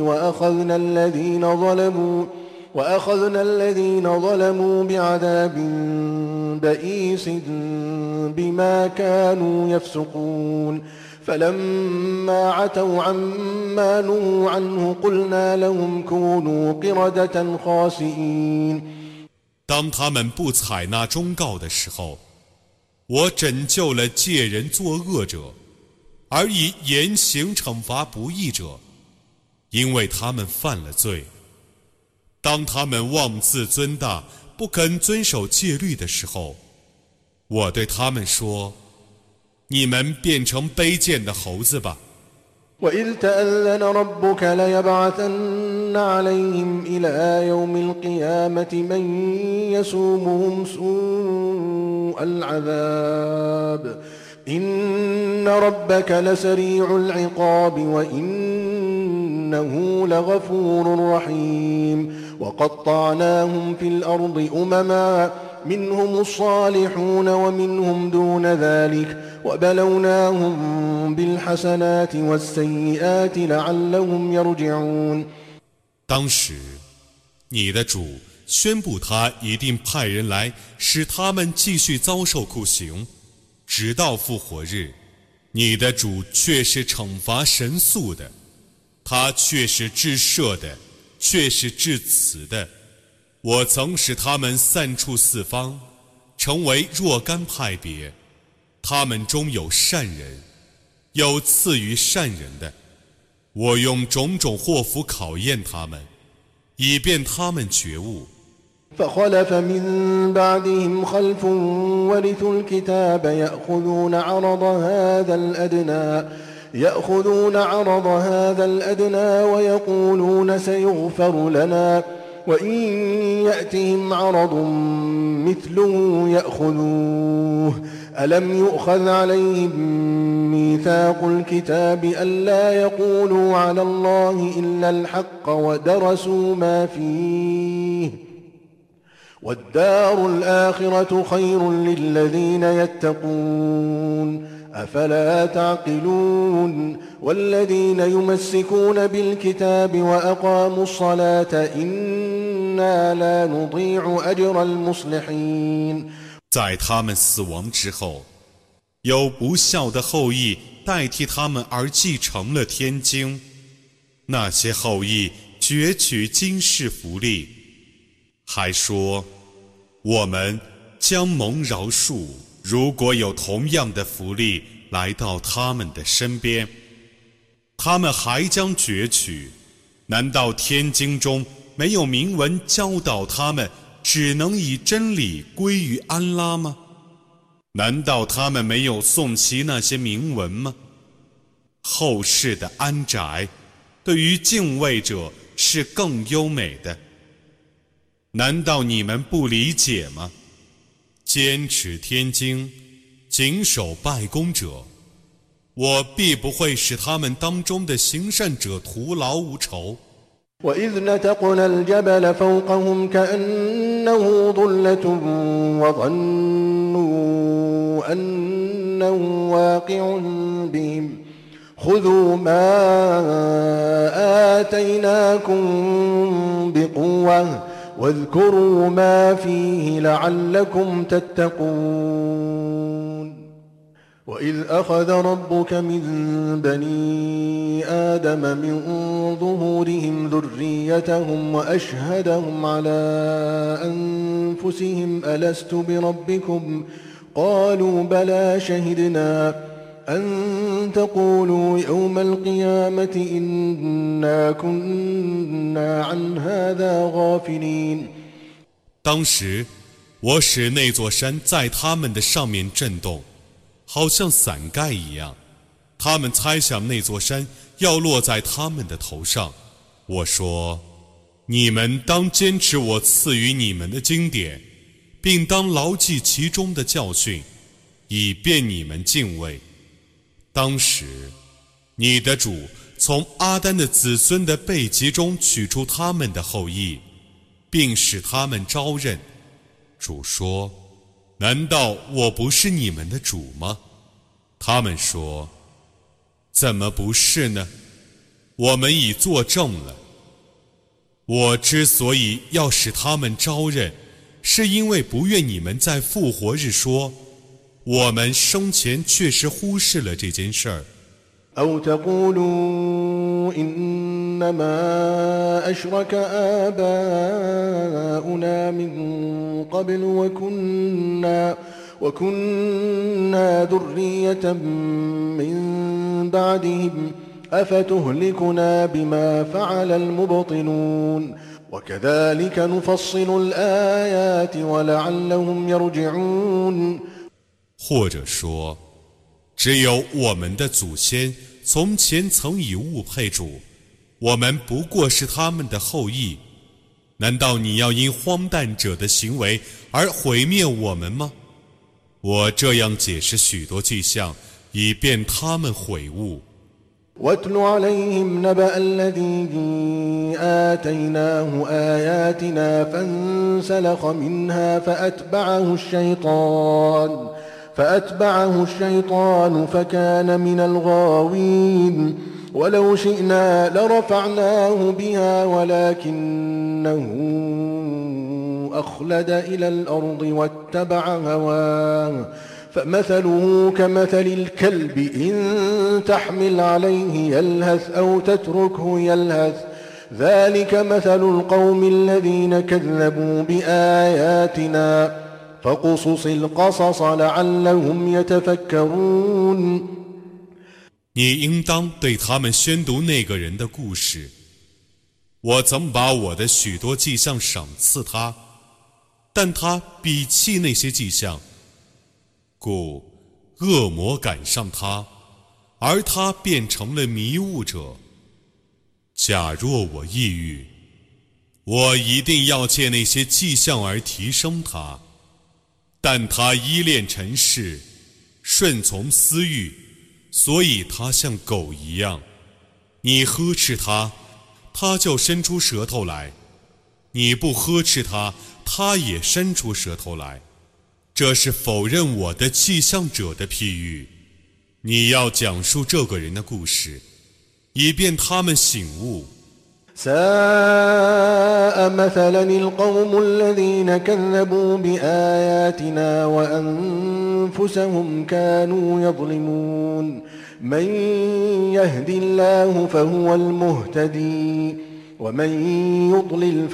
وأخذنا الذين ظلموا بعذاب بئيس بما كانوا يفسقون. فلما عتوا عما نهوا عنه قلنا لهم كونوا قردة خاسئين。 当他们不采纳忠告的时候，我拯救了借人作恶者，而以严刑惩罚不义者，因为他们犯了罪。当他们妄自尊大，不肯遵守戒律的时候，我对他们说：你们变成卑贱的猴子吧。 وإذ تأذن ربك ليبعثن عليهم إلى يوم القيامة من يسومهم سوء العذاب إن ربك لسريع العقاب وإنه لغفور رحيم. وقطعناهم في الأرض أمما منهم الصالحون ومنهم دون ذلك وبلوناهم بالحسنات والسيئات لعلهم يرجعون。 当时，你的主宣布他一定派人来使他们继续遭受酷刑，直到复活日。你的主却是惩罚神速的，他却是至赦的，却是至慈的。我曾使他们散处四方，成为若干派别，他们中有善人，有次于善人的。我用种种祸福考验他们，以便他们觉悟。 فخلف من بعدهم خلف ورثوا الكتاب يأخذون عرض هذا الأدنى ويقولون سيغفر لنا وإن يأتهم عرض مثله يأخذوه ألم يؤخذ عليهم ميثاق الكتاب ألا يقولوا على الله إلا الحق ودرسوا ما فيه والدار الآخرة خير للذين يتقون أفلا تعقلون والذين يمسكون بالكتاب وأقاموا الصلاة إنا لا نضيع أجر المصلحين。 在他们死亡之后，有不孝的后裔代替他们而继承了天经，那些后裔攫取今世福利，还说我们将蒙饶恕，如果有同样的福利来到他们的身边，他们还将攫取。难道天经中没有明文教导他们只能以真理归于安拉吗？难道他们没有诵习那些铭文吗？后世的安宅对于敬畏者是更优美的。难道你们不理解吗？坚持天经，谨守拜功者，我必不会使他们当中的行善者徒劳无酬。 وإذ نتقنا الجبل فوقهم كأنه ظلة وظنوا أنه واقع بهم خذوا ما آتيناكم بقوة واذكروا ما فيه لعلكم تتقون وإذ أخذ ربك من بني آدم من ظهورهم ذريتهم وأشهدهم على أنفسهم ألست بربكم قالوا بلى شهدنا أن تقولوا يوم القيامة إنا كنا عن هذا غافلين。 当时，我使那座山在他们的上面震动，好像伞盖一样。他们猜想那座山要落在他们的头上。我说：你们当坚持我赐予你们的经典，并当牢记其中的教训，以便你们敬畏。当时，你的主从阿丹的子孙的背脊中取出他们的后裔，并使他们招认。主说：难道我不是你们的主吗？他们说：怎么不是呢？我们已作证了。我之所以要使他们招认，是因为不愿你们在复活日说我们生前确实忽视了这件事儿。 أو تقولوا إنما أشرك آباؤنا من قبل وكنا ذرية من بعدهم أفتهلكنا بما فعل المبطلون وكذلك نفصل الآيات ولعلهم يرجعون。 或者说，只有我们的祖先从前曾以物配主，我们不过是他们的后裔。难道你要因荒诞者的行为而毁灭我们吗？我这样解释许多迹象，以便他们悔悟。 واتل عليهم نبأ الذي آتيناه آياتنا فانسلخ منها فأتبعه الشيطان فكان من الغاوين ولو شئنا لرفعناه بها ولكنه أخلد إلى الأرض واتبع هواه فمثله كمثل الكلب إن تحمل عليه يلهث أو تتركه يلهث ذلك مثل القوم الذين كذبوا بآياتنا فقصص القصص لعلهم يتفكرون。 你应当对他们宣读那个人的故事。我曾把我的许多迹象赏赐他，但他鄙弃那些迹象，故恶魔赶上他，而他变成了迷雾者。假若我抑郁，我一定要借那些迹象而提升他，但他依恋尘世，顺从私欲，所以他像狗一样。你呵斥他，他就伸出舌头来；你不呵斥他，他也伸出舌头来。这是否认我的迹象者的譬喻。你要讲述这个人的故事，以便他们醒悟。 ساء مثلا القوم الذين كذبوا بآياتنا وأنفسهم كانوا يظلمون من يهد الله فهو المهتدي ومن يضلل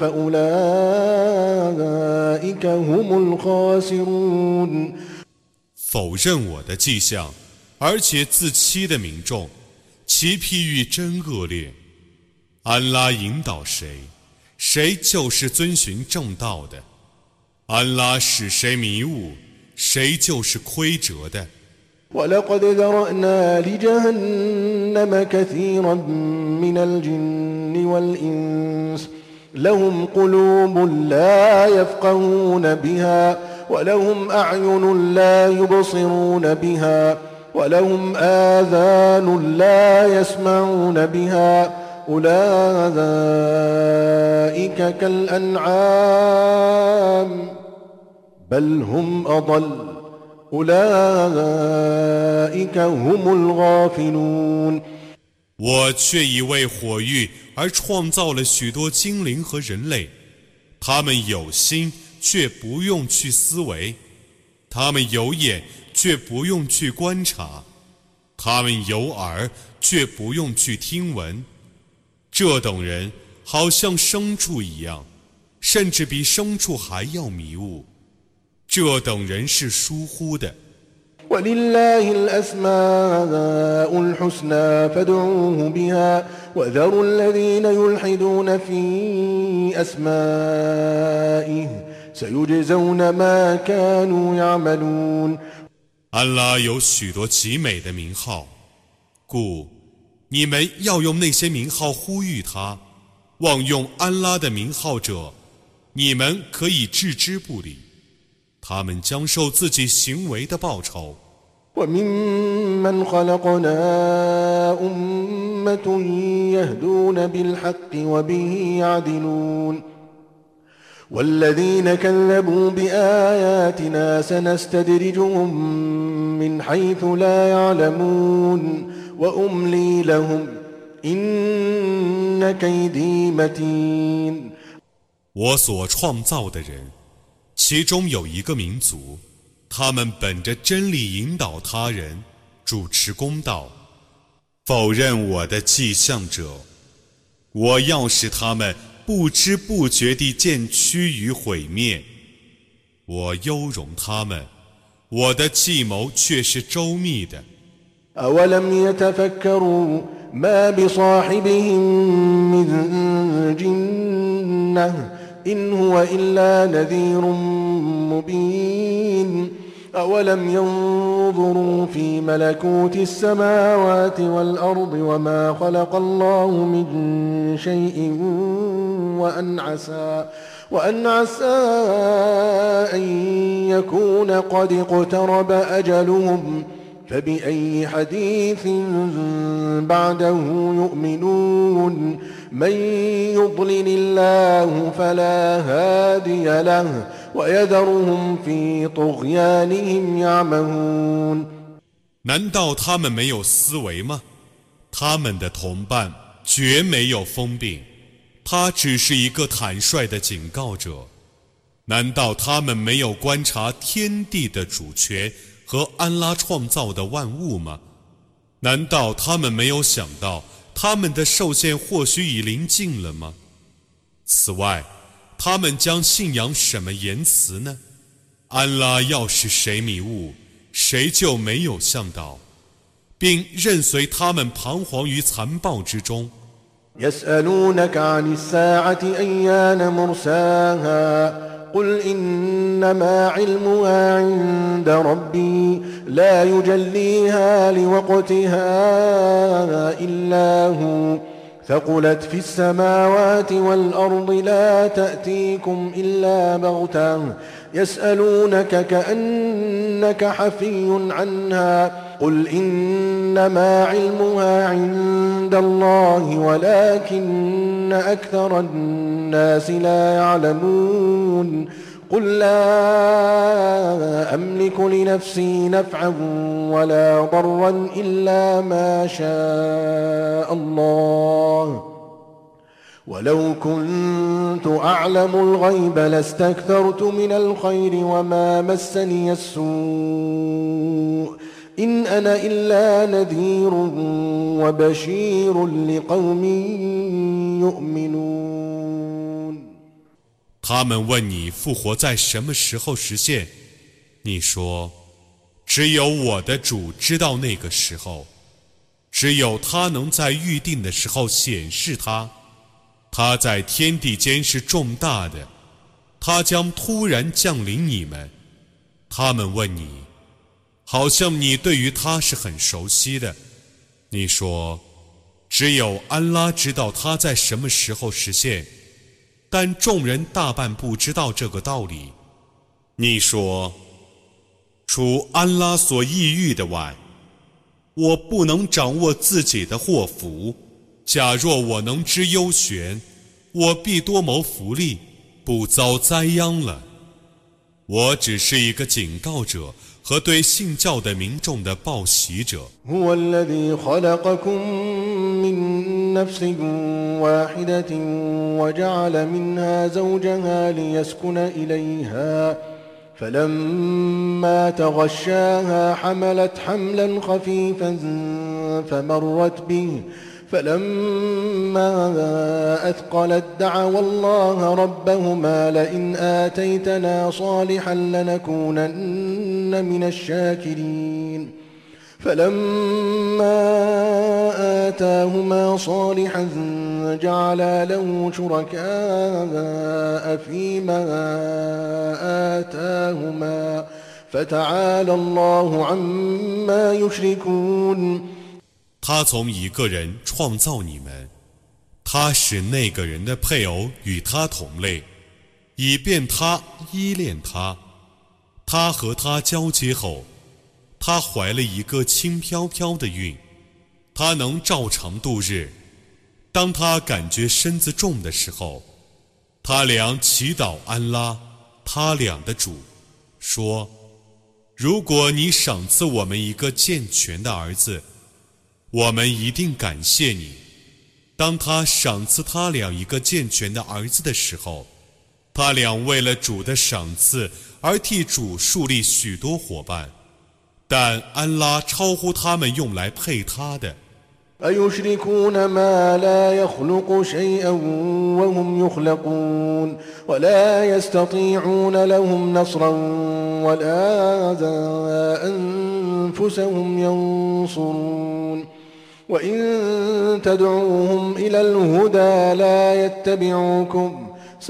فأولئك هم الخاسرون。 否认我的迹象，而且自欺的民众，其譬喻真恶劣。安拉引导谁，谁就是遵循正道的；安拉使谁迷雾，谁就是亏折的。 ولقد ذرأنا لجهنم كثيرا من الجن والإنس لهم قلوب لا يفقهون بها ولهم أعين لا يبصرون بها ولهم آذان لا يسمعون بها أولئك كالأنعام بل هم أضل أولئك هم الغافلون。 我却已为火域而创造了许多精灵和人类，他们有心却不用去思维，他们有眼却不用去观察，他们有耳却不用去听闻。这等人好像牲畜一样，甚至比牲畜还要迷雾。这等人是疏忽的。 ولله الأسماء الحسنى فادعوه بها وذروا الذين يلحدون في أسمائه سيجزون ما كانوا يعملون。 安拉有许多极美的名号，故你们要用那些名号呼吁他。妄用安拉的名号者，你们可以置之不理，他们将受自己行为的报酬。 وممن خلقنا أمة يهدون بالحق وبه يعدلون والذين كذبوا بآياتنا سنستدرجهم من حيث لا يعلمون وأملي لهم إن كيدي متين。 我所创造的人，其中有一个民族，他们本着真理引导他人，主持公道。否认我的迹象者，我要使他们不知不觉地渐趋于毁灭。我优容他们，我的计谋却是周密的。 أولم يتفكروا ما بصاحبهم من جنة إن هو إلا نذير مبين أولم ينظروا في ملكوت السماوات والأرض وما خلق الله من شيء وأن عسى أن يكون قد اقترب أجلهم فبأي حديث بعده يؤمنون من يضلل الله فلا هادي له ويذرهم في طغيانهم يعمهون 难道他们没有思维吗？他们的同伴绝没有疯病，他只是一个坦率的警告者。难道他们没有观察天地的主权和安拉创造的万物吗？难道他们没有想到他们的受限或许已临近了吗？此外，他们将信仰什么言辞呢？安拉要是谁迷雾，谁就没有向导，并任随他们彷徨于残暴之中。 يسألونك عن الساعة أيان مرساها قل إنما علمها عند ربي لا يجليها لوقتها إلا هو ثقلت في السماوات والأرض لا تأتيكم إلا بغتة يسألونك كأنك حفي عنها قل إنما علمها عند الله ولكن أكثر الناس لا يعلمون قل لا أملك لنفسي نفعا ولا ضرا إلا ما شاء الله ولو كنت أعلم الغيب لاستكثرت من الخير وما مسني السوء إن أنا إلا نذير وبشير لقوم يؤمنون 他们问你复活在什么时候实现，你说只有我的主知道那个时候，只有他能在预定的时候显示他。他在天地间是重大的，他将突然降临你们。他们问你，好像你对于他是很熟悉的。你说，只有安拉知道他在什么时候实现，但众人大半不知道这个道理。你说，除安拉所抑郁的外，我不能掌握自己的祸福。假若我能知幽玄，我必多谋福利，不遭灾殃了。我只是一个警告者和对信教的民众的报喜者。 هو الذي خلقكم من نفس واحدة وجعل منها زوجها ليسكن إليها فلما تغشاها حملت حملا خفيفا فمرت به فلما أثقلت دعوا الله ربهما لئن آتيتنا صالحا لنكونن من الشاكرين فلما آتاهما صالحا جعلا له شركاء فيما آتاهما فتعالى الله عما يشركون 他从一个人创造你们，他使那个人的配偶与他同类，以便他依恋他。他和他交接后，他怀了一个轻飘飘的孕，他能照常度日。当他感觉身子重的时候，他俩祈祷安拉，他俩的主，说：如果你赏赐我们一个健全的儿子，我们一定感谢你。当他赏赐他俩一个健全的儿子的时候，他俩为了主的赏赐而替主树立许多伙伴，但安拉超乎他们用来配他的。 أيشركون ما لا يخلق شيئا وهم يخلقون ولا يستطيعون لهم نصرا ولا أنفسهم ينصرون وإن تدعوهم إلى الهدى لا يتبعوكم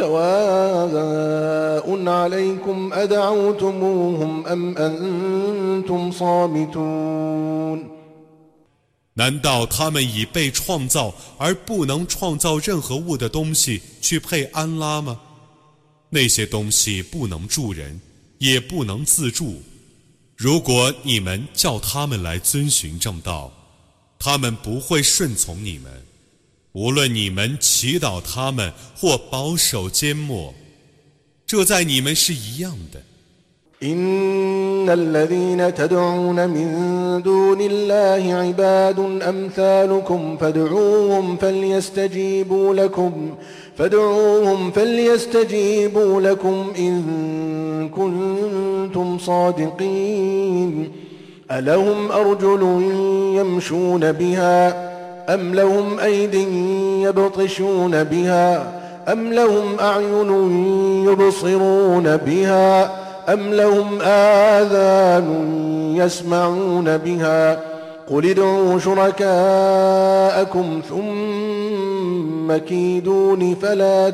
سواء عليكم أدعوتموهم أم أنتم صامتون 难道他们以被创造而不能创造任何物的东西去配安拉吗？那些东西不能助人，也不能自助。 如果你们叫他们来遵循正道，他们不会顺从你们，无论你们祈祷他们或保守缄默，这在你们是一样的。 إن الذين تدعون من دون الله عباد أمثالكم فادعوهم فليستجيبوا لكم إن كنتم صادقين ألهم أرجل يمشون بها أم لهم أيد يبطشون بها أم لهم أعين يبصرون بها أم لهم آذان يسمعون بها قل ادعوا شركاءكم ثم كيدون فلا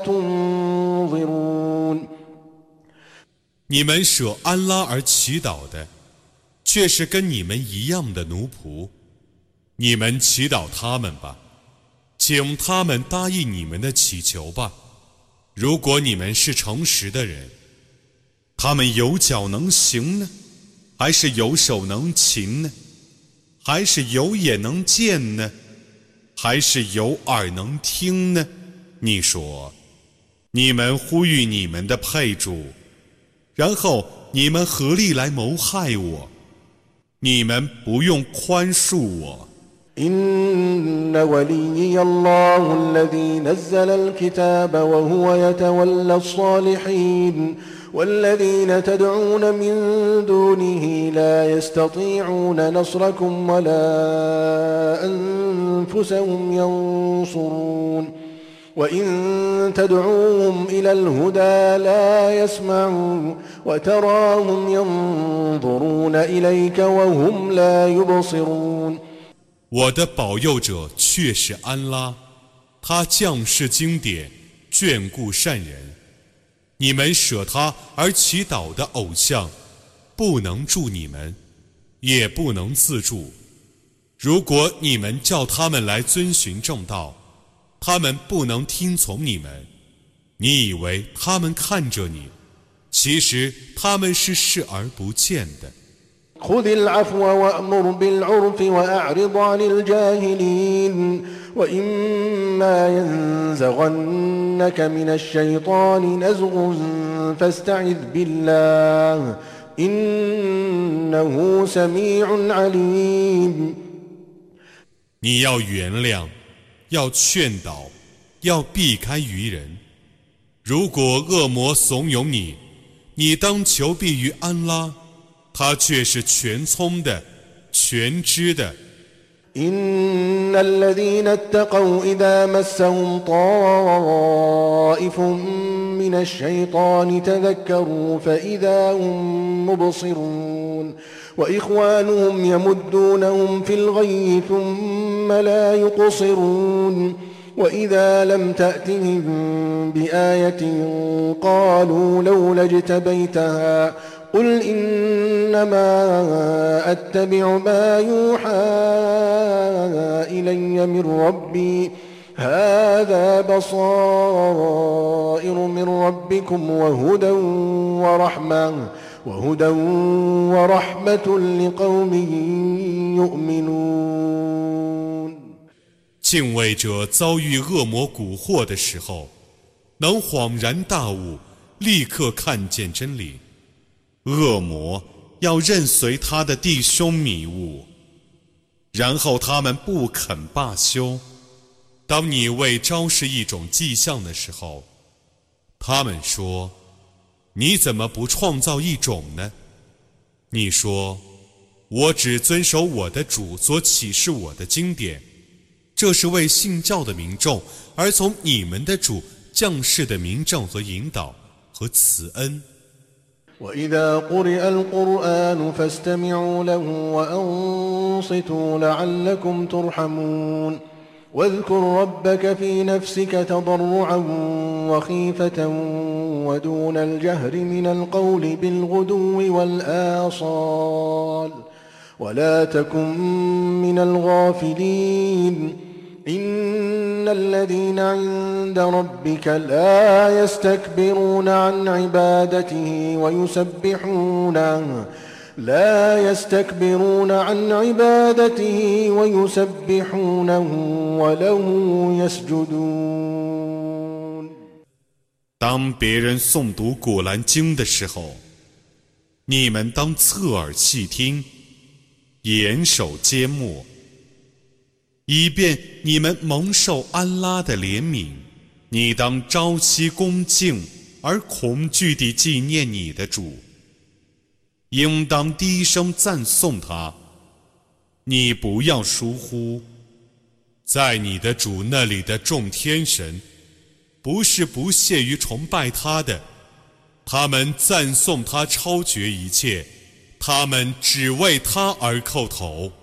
تنظرون 你们舍安拉而祈祷的，却是跟你们一样的奴仆。你们祈祷他们吧，请他们答应你们的祈求吧。如果你们是诚实的人，他们有脚能行呢，还是有手能擒呢？还是有眼能见呢？还是有耳能听呢？你说，你们呼吁你们的配主，然后你们合力来谋害我，你们不用宽恕我。 إن وليي الله الذي نزل الكتاب وهو يتولى الصالحين والذين تدعون من دونه لا يستطيعون نصركم ولا أنفسهم ينصرون وإن تدعوهم إلى الهدى لا يسمعون وتراهم ينظرون إليك وهم لا يبصرون 我的保佑者却是安拉，他降世经典，眷顾善人。你们舍他而祈祷的偶像，不能助你们，也不能自助。如果你们叫他们来遵循正道，他们不能听从你们。你以为他们看着你，其实他们是视而不见的。 خذ العفو وأمر بالعرف وأعرض عن الجاهلين وإما ينزغنك من الشيطان نزغ فاستعذ بالله إنه سميع عليم 你要原谅，要劝导，要避开愚人。如果恶魔怂恿你，你当求避于安拉，他却是全聪的，全知的。 إن الذين اتقوا إذا مسهم طائف من الشيطان تذكروا فإذا هم مبصرون وإخوانهم يمدونهم في الغي ثم لا يقصرون وإذا لم تأتهم بآية قالوا لولا اجتبيتها قل إنما أتبع ما يوحى إلي من ربي هذا بصائر من ربكم وهدى ورحمة لقوم يؤمنون 敬畏者遭遇恶魔蛊惑的时候，能恍然大悟，立刻看见真理。恶魔要任随他的弟兄迷雾，然后他们不肯罢休。当你为昭示一种迹象的时候，他们说：“你怎么不创造一种呢？”你说：“我只遵守我的主所启示我的经典，这是为信教的民众而从你们的主降世的明证和引导和慈恩。” وإذا قرئ القرآن فاستمعوا له وأنصتوا لعلكم ترحمون واذكر ربك في نفسك تضرعا وخيفة ودون الجهر من القول بالغدو والآصال ولا تكن من الغافلين إن الذين عند ربك لا يستكبرون عن عبادته لا يستكبرون عن عبادته ويسبحونه وله يسجدون。 当别人诵读古兰经的时候，你们当侧耳细听，严守缄默，以便你们蒙受安拉的怜悯。你当朝夕恭敬而恐惧地纪念你的主，应当低声赞颂他。你不要疏忽，在你的主那里的众天神，不是不屑于崇拜他的，他们赞颂他超绝一切，他们只为他而叩头。